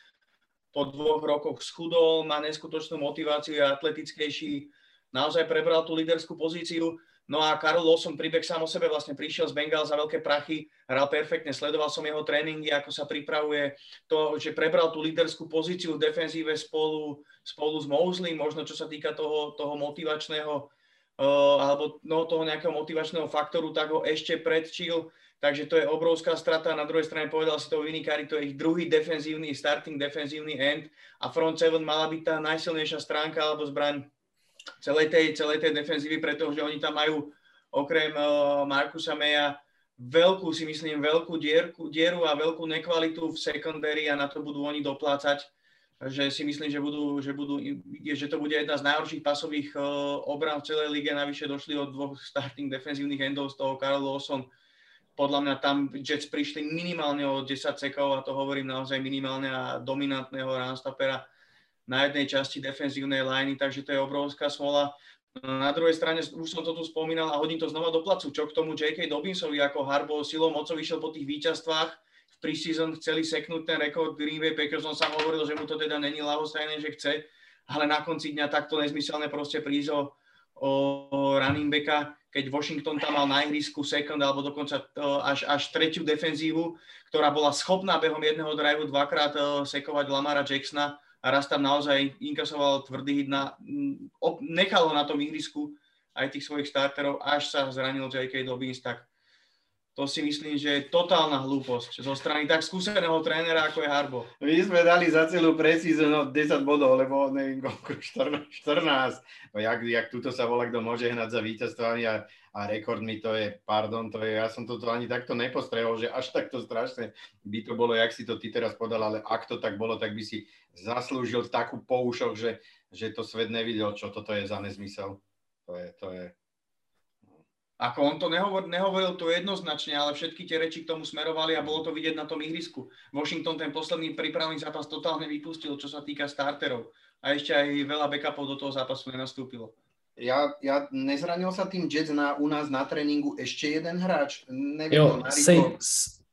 po dvoch rokoch schudol, má neskutočnú motiváciu, je atletickejší, naozaj prebral tú líderskú pozíciu. No a Karl Lawson, príbeh sám o sebe, vlastne prišiel z Bengals za veľké prachy, hral perfektne, sledoval som jeho tréningy, ako sa pripravuje, to, že prebral tú líderskú pozíciu v defenzíve spolu, spolu s Mosley, možno čo sa týka toho, toho motivačného Uh, alebo no, toho nejakého motivačného faktoru, tak ho ešte predčil, takže to je obrovská strata. Na druhej strane povedal si to Vinny Curry, to je ich druhý defenzívny, starting defenzívny end a front seven mala byť tá najsilnejšia stránka alebo zbraň celej tej, celej tej defenzívy, pretože oni tam majú okrem uh, Marcusa Maya veľkú, si myslím, veľkú dierku, dieru a veľkú nekvalitu v secondary a na to budú oni doplácať. Že si myslím, že, budú, že, budú, že to bude jedna z najhorších pasových uh, obran v celej lige. Navyše došli od dvoch starting defenzívnych endov z toho Karl Lawson. Podľa mňa tam Jets prišli minimálne o desať sekov a to hovorím naozaj minimálne a dominantného runstoppera na jednej časti defenzívnej liney, takže to je obrovská smola. Na druhej strane, už som to tu spomínal a hodím to znova do placu, čo k tomu J K. Dobbinsovi ako Harbaugh silou mocou vyšiel po tých víťazstvách. Preseason chceli seknúť ten rekord Green Bay Packers, on sám hovoril, že mu to teda není ľahostajné, že chce, ale na konci dňa takto nezmyselne proste prísť o, o running backa, keď Washington tam mal na ihrisku second alebo dokonca až, až tretiu defenzívu, ktorá bola schopná behom jedného driveu dvakrát sekovať Lamara Jacksona a raz tam naozaj inkasoval tvrdý hit, na, nechal ho na tom ihrisku aj tých svojich starterov, až sa zranil J K. Dobbins, tak to si myslím, že je totálna hlúposť zo strany tak skúseného trénera, ako je Harbaugh. My sme dali za celú preseason desať bodov, lebo neviem, koľko, štrnásť. No jak, jak tuto sa volá, kto môže hnať za víťazstvami a, a rekordmi, to je, pardon, to je, ja som to ani takto nepostrehol, že až takto strašne by to bolo, jak si to ty teraz podal, ale ak to tak bolo, tak by si zaslúžil takú poušok, že, že to svet nevidel, čo toto je za nezmysel. To je, to je... Ako on to nehovor, nehovoril to jednoznačne, ale všetky tie reči k tomu smerovali a bolo to vidieť na tom ihrisku. Washington ten posledný prípravný zápas totálne vypustil, čo sa týka starterov. A ešte aj veľa backupov do toho zápasu nenastúpilo. Ja, ja nezranil sa tým Jets na, u nás na tréninku ešte jeden hráč? Neviem, jo, safe,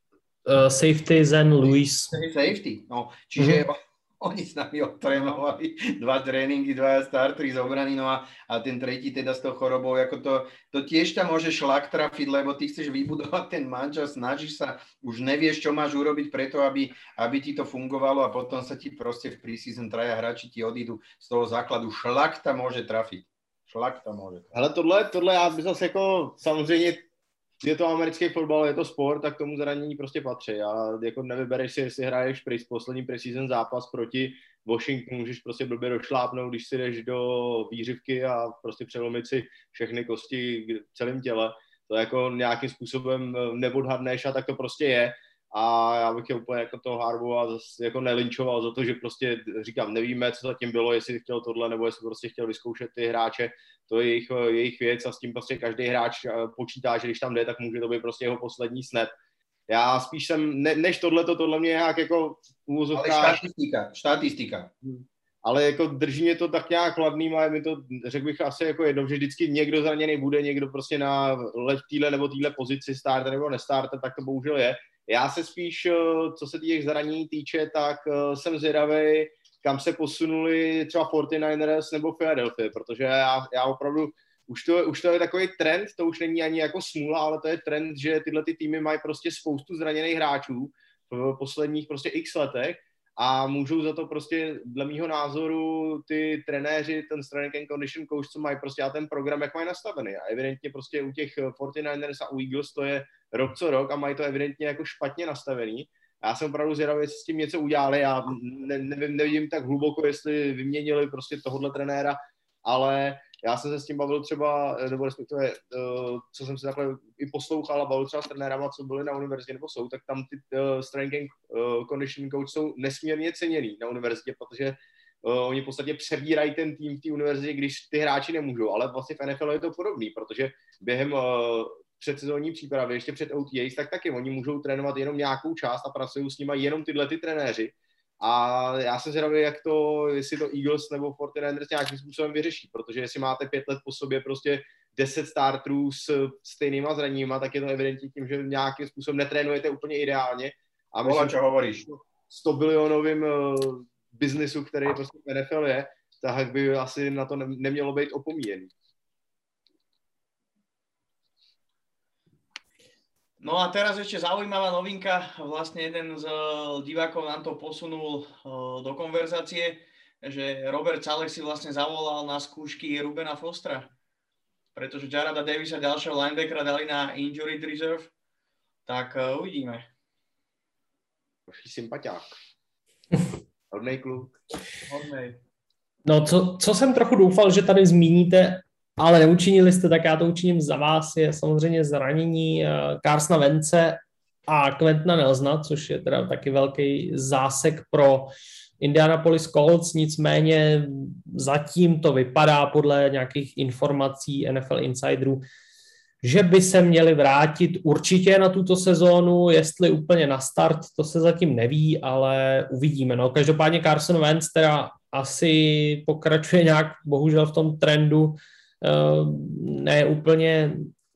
uh, safety Zen Lewis. Safety, no. Čiže mm-hmm. oni s nami otrénovali dva tréningy, dva startery z obrany, no a, a ten tretí teda s tou chorobou, ako to, to tiež ťa môže šlak trafiť, lebo ty chceš vybudovať ten mančas, snažíš sa, už nevieš, čo máš urobiť preto, aby, aby ti to fungovalo a potom sa ti proste v preseason traja hráči ti odídu z toho základu. Šlak tam môže trafiť. Šlak tam môže trafiť. Ale tohle, tohle já bych zase jako, samozřejmě je to americký fotbal, je to sport, tak tomu zranění prostě patří. A jako nevybereš si, jestli hraješ pri poslední preseason zápas proti Washingtonu, můžeš prostě blbě došlápnout, když si jdeš do výřivky a prostě přelomit si všechny kosti v celém těle. To jako nějakým způsobem neodhadneš a tak to prostě je. A já bych je úplně jako toho Harbaugha zase jako nelinčoval za to, že prostě říkám, nevíme, co zatím bylo, jestli chtěl tohle, nebo jestli prostě chtěl vyzkoušet ty hráče, to je jejich, jejich věc a s tím prostě každý hráč počítá, že když tam jde, tak může to být prostě jeho poslední snap. Já spíš jsem, ne, než tohleto, tohle mě nějak jako úvozovka... Ale štatistika, štatistika. Ale jako drží mě to tak nějak chladným a je mi to, řekl bych asi jako jedno, že vždycky někdo zraněný bude, někdo prostě na téhle nebo téhle pozici starter nebo nestarter, tak to bohužel je. Já se spíš, co se těch zranění týče, tak jsem zvědavý, kam se posunuli třeba forty-niners nebo Philadelphia, protože já, já opravdu, už to, už to je takový trend, to už není ani jako smůla, ale to je trend, že tyhle ty týmy mají prostě spoustu zraněných hráčů v posledních prostě x letech a můžou za to prostě, dle mýho názoru, ty trenéři, ten strength and condition coach, co mají prostě a ten program, jak mají nastavený. A evidentně prostě u těch forty-niners a u Eagles to je rok co rok a mají to evidentně jako špatně nastavený. Já jsem opravdu zvědavý, jestli s tím něco udělali. Já ne, nevím, nevidím tak hluboko, jestli vyměnili prostě tohohle trenéra, ale já jsem se s tím bavil třeba, nebo respektive, co jsem si takhle i poslouchal a bavil třeba s trenérama, co byli na univerzitě nebo jsou, tak tam ty uh, strength and uh, conditioning coach jsou nesmírně ceněný na univerzitě, protože uh, oni v podstatě přebírají ten tým v té univerzitě, když ty hráči nemůžou, ale vlastně v N F L je to podobný, protože během uh, předsezónní přípravy, ještě před O T As, tak taky oni můžou trénovat jenom nějakou část a pracují s nimi jenom tyhle ty trenéři. A já jsem zvědavý, jak to, jestli to Eagles nebo forty-niners nějakým způsobem vyřeší, protože jestli máte pět let po sobě prostě deset starterů s stejnýma zraněníma, tak je to evidentně tím, že nějakým způsobem netrénujete úplně ideálně. A myslím, čo hovoríš? sto bilionovým uh, biznisu, který prostě v N F L je, tak by asi na to nemělo být opomíjený. No a teraz ešte zaujímavá novinka, vlastne jeden z divákov nám to posunul do konverzácie, že Robert Salek si vlastne zavolal na skúšky Rubena Fostera, pretože Jarada Davisa, ďalšieho linebackera, dali na injured reserve, tak uvidíme. Vaší sympatiák. Hodnej kluk. Hodnej. No, co, co jsem trochu doufal, že tady zmíníte, ale neučinili jste, tak já to učiním za vás, je samozřejmě zranění Carsona Wentze a Quentona Nelsona, což je teda taky velký zásek pro Indianapolis Colts, nicméně zatím to vypadá podle nějakých informací N F L Insiderů, že by se měli vrátit určitě na tuto sezónu, jestli úplně na start, to se zatím neví, ale uvidíme. No, každopádně Carson Wentz teda asi pokračuje nějak, bohužel v tom trendu, ne úplně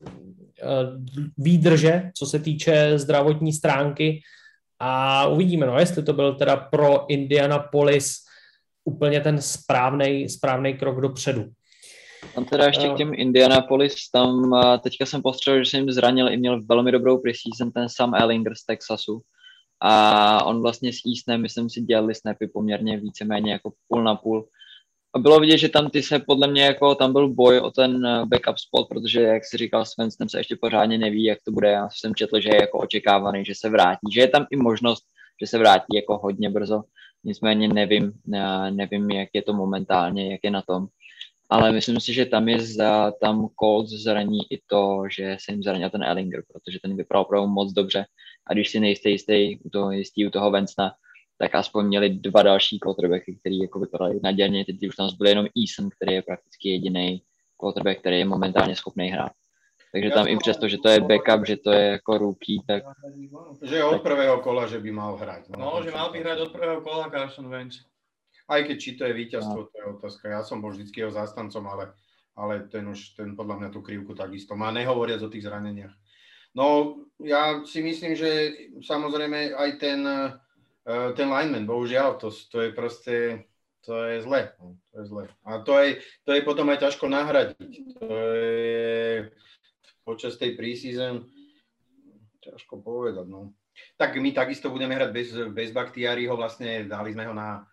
výdrže, co se týče zdravotní stránky a uvidíme, no, jestli to byl teda pro Indianapolis úplně ten správnej, správnej krok dopředu. Tam teda ještě k těm Indianapolis, tam teďka jsem postřelil, že jsem jim zranil i měl velmi dobrou preseason ten Sam Ehlinger z Texasu a on vlastně s Eastem, myslím si, dělali snapy poměrně víceméně jako půl na půl. A bylo vidět, že tam ty se podle mě jako tam byl boj o ten backup spot, protože jak si říkal Svensson, se ještě pořádně neví, jak to bude. Já jsem četl, že je jako očekávaný, že se vrátí, že je tam i možnost, že se vrátí jako hodně brzo. Nicméně nevím, nevím, jak je to momentálně, jak je na tom. Ale myslím si, že tam je za, tam Colts zraní i to, že se jim zranil ten Ellinger, protože ten vypadal opravdu moc dobře. A když si nejste jistý u toho, jistý u toho Vensna, tak aspoň měli dva další quarterbacky, který jako vypadali naděrně. Teď už tam byl jenom Eason, který je prakticky jediný quarterback, který je momentálně schopný hrát. Takže tam i přesto, že to je backup, že to je jako rookie, tak... Že od prvého kola, že by mal hrať. No, no že mal by hrať od prvého kola Carson Wentz. Aj keď či to je víťazstvo, no. To je otázka. Ja som bol vždycky jeho zástancom, ale, ale ten už, ten podľa mňa tú krivku takisto má, nehovoriac o tých zraneniach. No, ja si myslím, že samozrejme aj ten, ten lineman, bohužiaľ, to, to je proste, to je zle. To je zle. A to je, to je potom aj ťažko nahradiť. To je počas tej preseason ťažko povedať, no. Tak my takisto budeme hrať bez, bez Bakhtiariho, vlastne dali sme ho na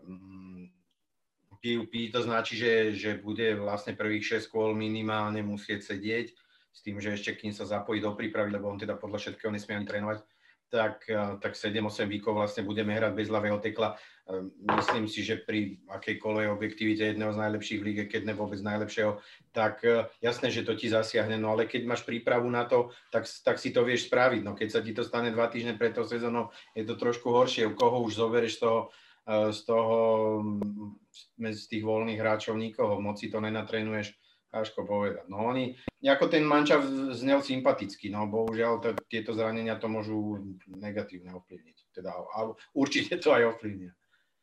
pé ú pé, to značí, že, že bude vlastne prvých šesť kôl minimálne musieť sedieť, s tým, že ešte kým sa zapojí do prípravy, lebo on teda podľa všetkého nesmie ani trénovať, tak, tak sedem osem víkov vlastne budeme hrať bez ľavého tekla. Myslím si, že pri akejkoľvek objektivite jedného z najlepších líg, keď ne vôbec najlepšieho, tak jasné, že to ti zasiahne, no ale keď máš prípravu na to, tak, tak si to vieš spraviť. No keď sa ti to stane dva týždne pred tou sezónou, je to trošku horšie. U koho už zoberieš z toho z toho, z tých voľných hráčov nikoho, moc si to nenatrénuješ, ťažko povedať. No oni, ako ten mančav znel sympaticky, no bohužiaľ t- tieto zranenia to môžu negatívne ovplyvniť. Teda a určite to aj ovplyvnia.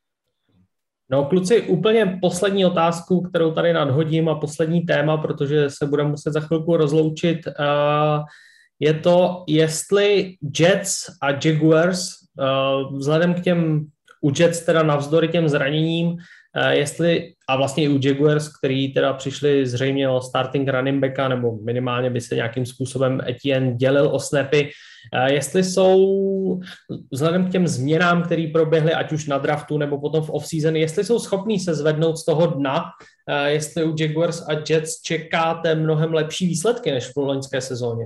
No kluci, úplně poslední otázku, kterou tady nadhodím a poslední téma, protože se budeme muset za chvilku rozloučit. Uh, je to, jestli Jets a Jaguars uh, vzhledem k těm u Jets teda navzdory těm zraněním, jestli, a vlastně i u Jaguars, který teda přišli zřejmě o starting running backa, nebo minimálně by se nějakým způsobem Etienne dělil o snapy, jestli jsou vzhledem k těm změnám, které proběhly, ať už na draftu nebo potom v off-season, jestli jsou schopní se zvednout z toho dna, jestli u Jaguars a Jets čekáte mnohem lepší výsledky než v loňské sezóně.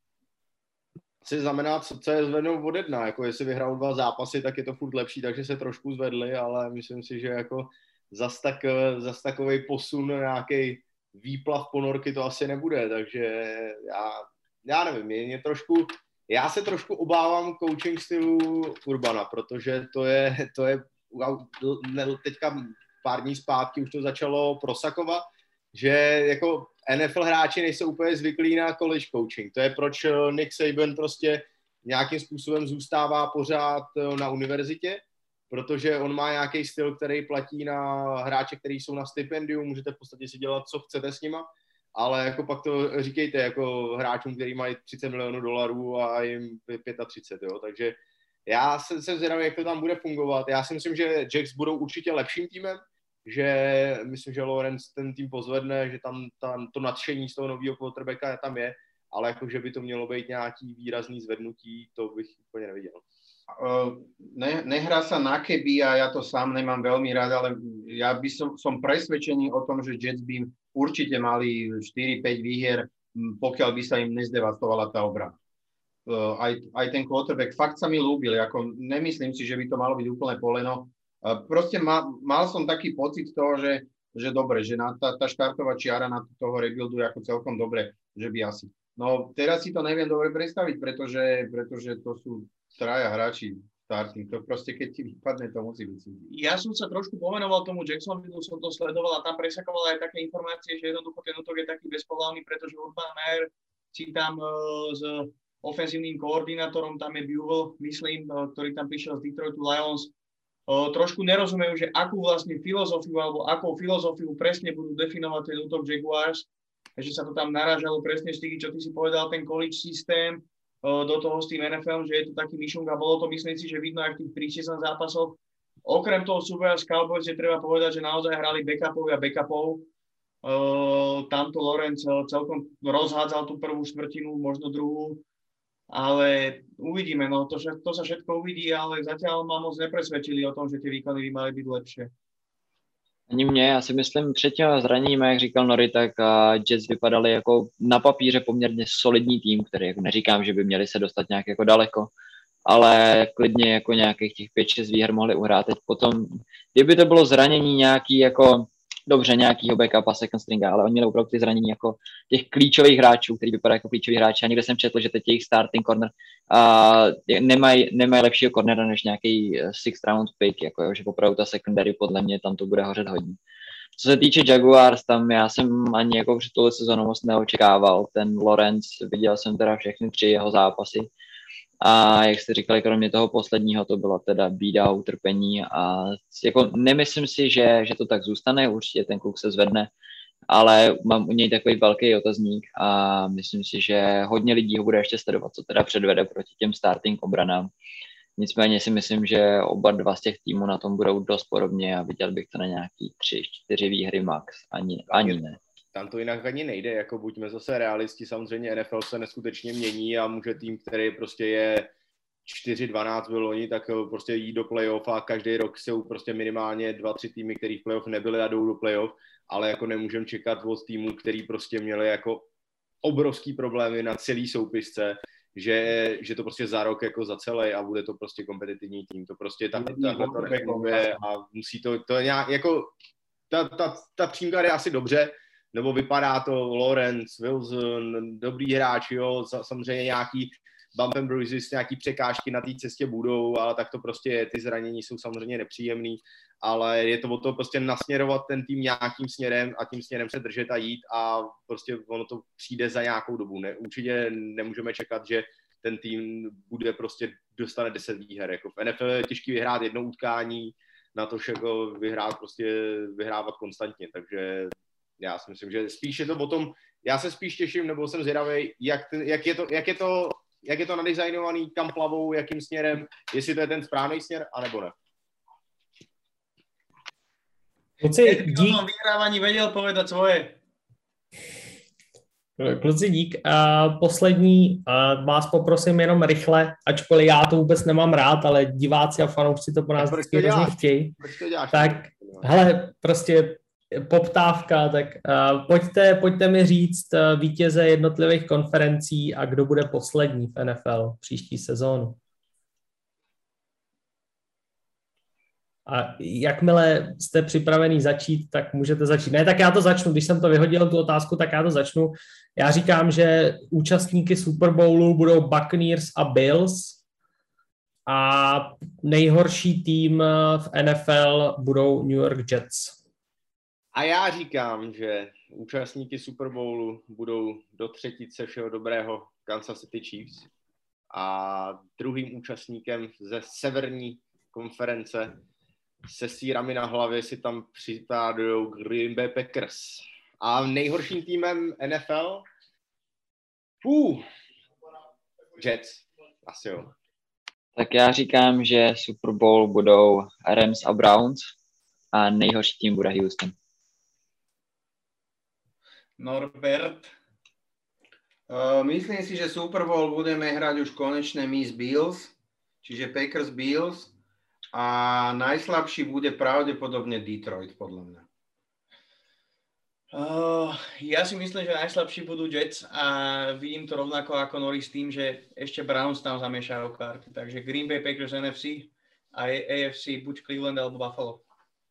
Si znamená, co, co je zvednou od jedna, jako jestli vyhrál dva zápasy, tak je to furt lepší, takže se trošku zvedli, ale myslím si, že jako zas, tak, zas takovej posun, nějaký výplav ponorky to asi nebude, takže já, já nevím, je, je trošku, já se trošku obávám coaching stylu Urbana, protože to je, to je teďka pár dní zpátky už to začalo prosakovat, že jako N F L hráči nejsou úplně zvyklí na college coaching. To je proč Nick Saban prostě nějakým způsobem zůstává pořád na univerzitě, protože on má nějaký styl, který platí na hráče, kteří jsou na stipendiu, můžete v podstatě si dělat, co chcete s nima, ale jako pak to říkejte jako hráčům, kteří mají třicet milionů dolarů a jim třicet pět, jo, takže já jsem se zvědavý, jak to tam bude fungovat. Já si myslím, že Jacks budou určitě lepším týmem, že myslím, že Lawrence ten tým pozvedne, že tam, tam to nadšení z toho nového quarterbacka tam je, ale jako, že by to mělo být nějaký výrazný zvednutí, to bych úplně neviděl. Ne, nehrá sa na keby a ja to sám nemám veľmi rád, ale ja by som, som presvedčený o tom, že Jets by určite mali štyri päť výhier, pokiaľ by sa im nezdevastovala tá obrana. Aj, aj ten quarterback fakt sa mi ľúbil, ako nemyslím si, že by to malo byť úplne poleno. Proste ma, mal som taký pocit toho, že, že dobre, že na tá, tá štartová čiara na toho rebuildu je ako celkom dobre, že by asi. No teraz si to neviem dobre predstaviť, pretože, pretože to sú traja hráči starting, to proste keď ti vypadne, to musí byť. Ja som sa trošku pomenoval tomu Jacksonville, som to sledoval a tam presakoval aj také informácie, že jednoducho ten útok je taký bezpohlavný, pretože Urban Meyer si tam uh, s ofenzívnym koordinátorom, tam je Buell, myslím, uh, ktorý tam prišiel z Detroitu Lions, uh, trošku nerozumejú, že akú vlastne filozofiu alebo akou filozofiu presne budú definovať ten útok Jaguars, že sa to tam narážalo presne z tých, čo ty si povedal, ten college systém, do toho s tým N F L, že je to taký myšunk a bolo to, myslím si, že vidno aj v tých preseason zápasoch. Okrem toho súboja s Cowboys je treba povedať, že naozaj hrali backupov a backupov. Uh, tamto Lawrence celkom rozhádzal tú prvú štvrtinu, možno druhú, ale uvidíme, no to, to sa všetko uvidí, ale zatiaľ ma moc nepresvedčili o tom, že tie výkony by mali byť lepšie. Ani mě, já si myslím, před těmi zraněními, jak říkal Nori, tak Jets vypadali jako na papíře poměrně solidní tým, který jako neříkám, že by měli se dostat nějak jako daleko, ale klidně jako nějakých těch pět šest výher mohli uhrát. Teď potom, kdyby to bylo zranění nějaký jako, dobře, nějakýho backupa, second stringa, ale oni měli opravdu ty zranění jako těch klíčových hráčů, který vypadají jako klíčoví hráči. A někde jsem četl, že teď jejich starting corner a nemají nemaj lepšího cornera než nějaký sixth round pick, jako jo, že opravdu ta secondary podle mě tam to bude hořet hodně. Co se týče Jaguars, tam já jsem ani jako před touhle sezónou moc neočekával. Ten Lawrence, viděl jsem teda všechny tři jeho zápasy. A jak jste říkali, kromě toho posledního, to bylo teda bída, utrpení a jako nemyslím si, že, že to tak zůstane, určitě ten kluk se zvedne, ale mám u něj takový velký otazník a myslím si, že hodně lidí ho bude ještě sledovat, co teda předvede proti těm starting obranám. Nicméně si myslím, že oba dva z těch týmů na tom budou dost podobně a viděl bych to na nějaký tři, čtyři výhry max, ani, ani ne. Tam to jinak ani nejde, jako buďme zase realisti, samozřejmě N F L se neskutečně mění a může tým, který prostě je čtyři dvanáct byl loni, tak prostě jít do playoff a každý rok jsou prostě minimálně dva, tři týmy, který v playoff nebyly a jdou do playoff, ale jako nemůžeme čekat od týmů, který prostě měli jako obrovský problémy na celý soupisce, že, že to prostě za rok jako za celý a bude to prostě kompetitivní tým, to prostě takhle to nefunguje a musí to, to je nějak, jako ta, ta, ta přímka je asi dobře, nebo vypadá to Lawrence, Wilson, dobrý hráči, jo, samozřejmě nějaký bump and bruises, nějaký překážky na té cestě budou, ale tak to prostě je, ty zranění jsou samozřejmě nepříjemný, ale je to o to prostě nasměrovat ten tým nějakým směrem a tím směrem se držet a jít a prostě ono to přijde za nějakou dobu. Ne, určitě nemůžeme čekat, že ten tým bude prostě dostane deset výher. Jako v N F L je těžký vyhrát jedno utkání, na to jako vyhrát prostě vyhrávat konstantně, takže já si myslím, že spíš je to o tom, já se spíš těším, nebo jsem zvědavý, jak, jak, je to, jak, je to, jak je to nadizajnovaný, kam plavou, jakým směrem, jestli to je ten správný směr, anebo ne. Kluci, dík. O vyhrávaní věděl povedat svoje. Kluci, dík. A poslední, a vás poprosím jenom rychle, ačkoliv já to vůbec nemám rád, ale diváci a fanoušci to po nás vždycky hrozně chtějí. Tak, hele, prostě poptávka, tak uh, pojďte, pojďte mi říct uh, vítěze jednotlivých konferencí a kdo bude poslední v N F L příští sezónu. A jakmile jste připravený začít, tak můžete začít. Ne, tak já to začnu. Když jsem to vyhodil, tu otázku, tak já to začnu. Já říkám, že účastníky Super Bowlu budou Buccaneers a Bills a nejhorší tým v N F L budou New York Jets. A já říkám, že účastníky Super Bowlu budou do třetice všeho dobrého Kansas City Chiefs a druhým účastníkem ze severní konference se sírami na hlavě si tam připádují Green Bay Packers. A nejhorším týmem N F L? Uh, Jets. Asi jo. Tak já říkám, že Super Bowl budou Rams a Browns a nejhorší tým bude Houston. Norbert? Uh, myslím si, že Super Bowl budeme hrať už konečne my z Bills, čiže Packers Bills a najslabší bude pravdepodobne Detroit, podľa mňa. Uh, ja si myslím, že najslabší budú Jets a vidím to rovnako ako Norris s tým, že ešte Browns tam zamiešajú karty. Takže Green Bay Packers N F C a A F C buď Cleveland alebo Buffalo.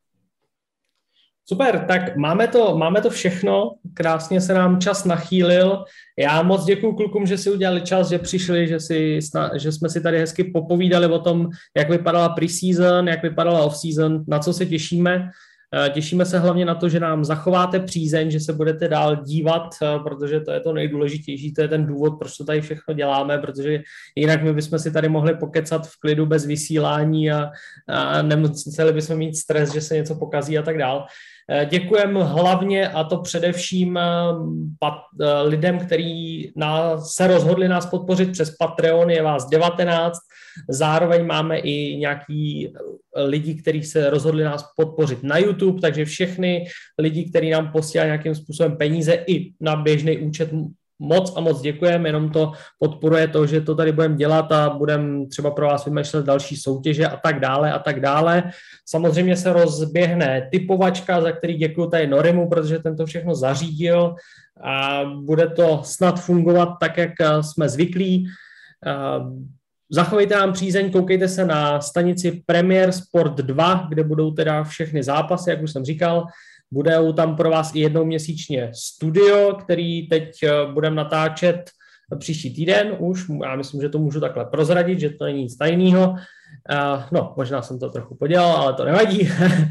Super, tak máme to, máme to všechno, krásně se nám čas nachýlil. Já moc děkuju klukům, že si udělali čas, že přišli, že, si, že jsme si tady hezky popovídali o tom, jak vypadala preseason, jak vypadala offseason, na co se těšíme. Těšíme se hlavně na to, že nám zachováte přízeň, že se budete dál dívat, protože to je to nejdůležitější, to je ten důvod, proč to tady všechno děláme, protože jinak my bychom si tady mohli pokecat v klidu bez vysílání a, a nemuseli bychom mít stres, že se něco pokazí a tak dál. Děkujeme hlavně a to především pat, lidem, kteří nás, se rozhodli nás podpořit přes Patreon, je vás devatenáct, zároveň máme i nějaký lidi, kteří se rozhodli nás podpořit na YouTube, takže všechny lidi, kteří nám posílají nějakým způsobem peníze i na běžný účet, moc a moc děkujeme, jenom to podporuje to, že to tady budeme dělat a budeme třeba pro vás vymýšlet další soutěže a tak dále a tak dále. Samozřejmě se rozběhne typovačka, za který děkuju tady Norimu, protože ten to všechno zařídil a bude to snad fungovat tak, jak jsme zvyklí. Zachovejte nám přízeň, koukejte se na stanici Premier Sport dva, kde budou teda všechny zápasy, jak už jsem říkal. Budou tam pro vás i jednou měsíčně studio, který teď budeme natáčet příští týden už. Já myslím, že to můžu takhle prozradit, že to není nic tajného. No, možná jsem to trochu podělal, ale to nevadí.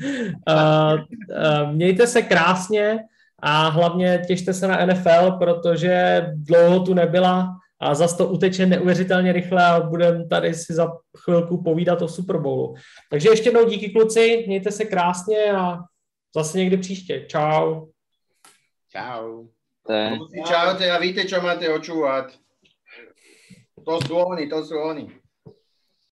Mějte se krásně a hlavně těšte se na N F L, protože dlouho tu nebyla a zase to uteče neuvěřitelně rychle a budeme tady si za chvilku povídat o Super Bowlu. Takže ještě jednou díky kluci, mějte se krásně a zase někdy příště. Čau. Čau. Tak. Čaute a víte, čo máte očúvať. To sú oni, to sú oni.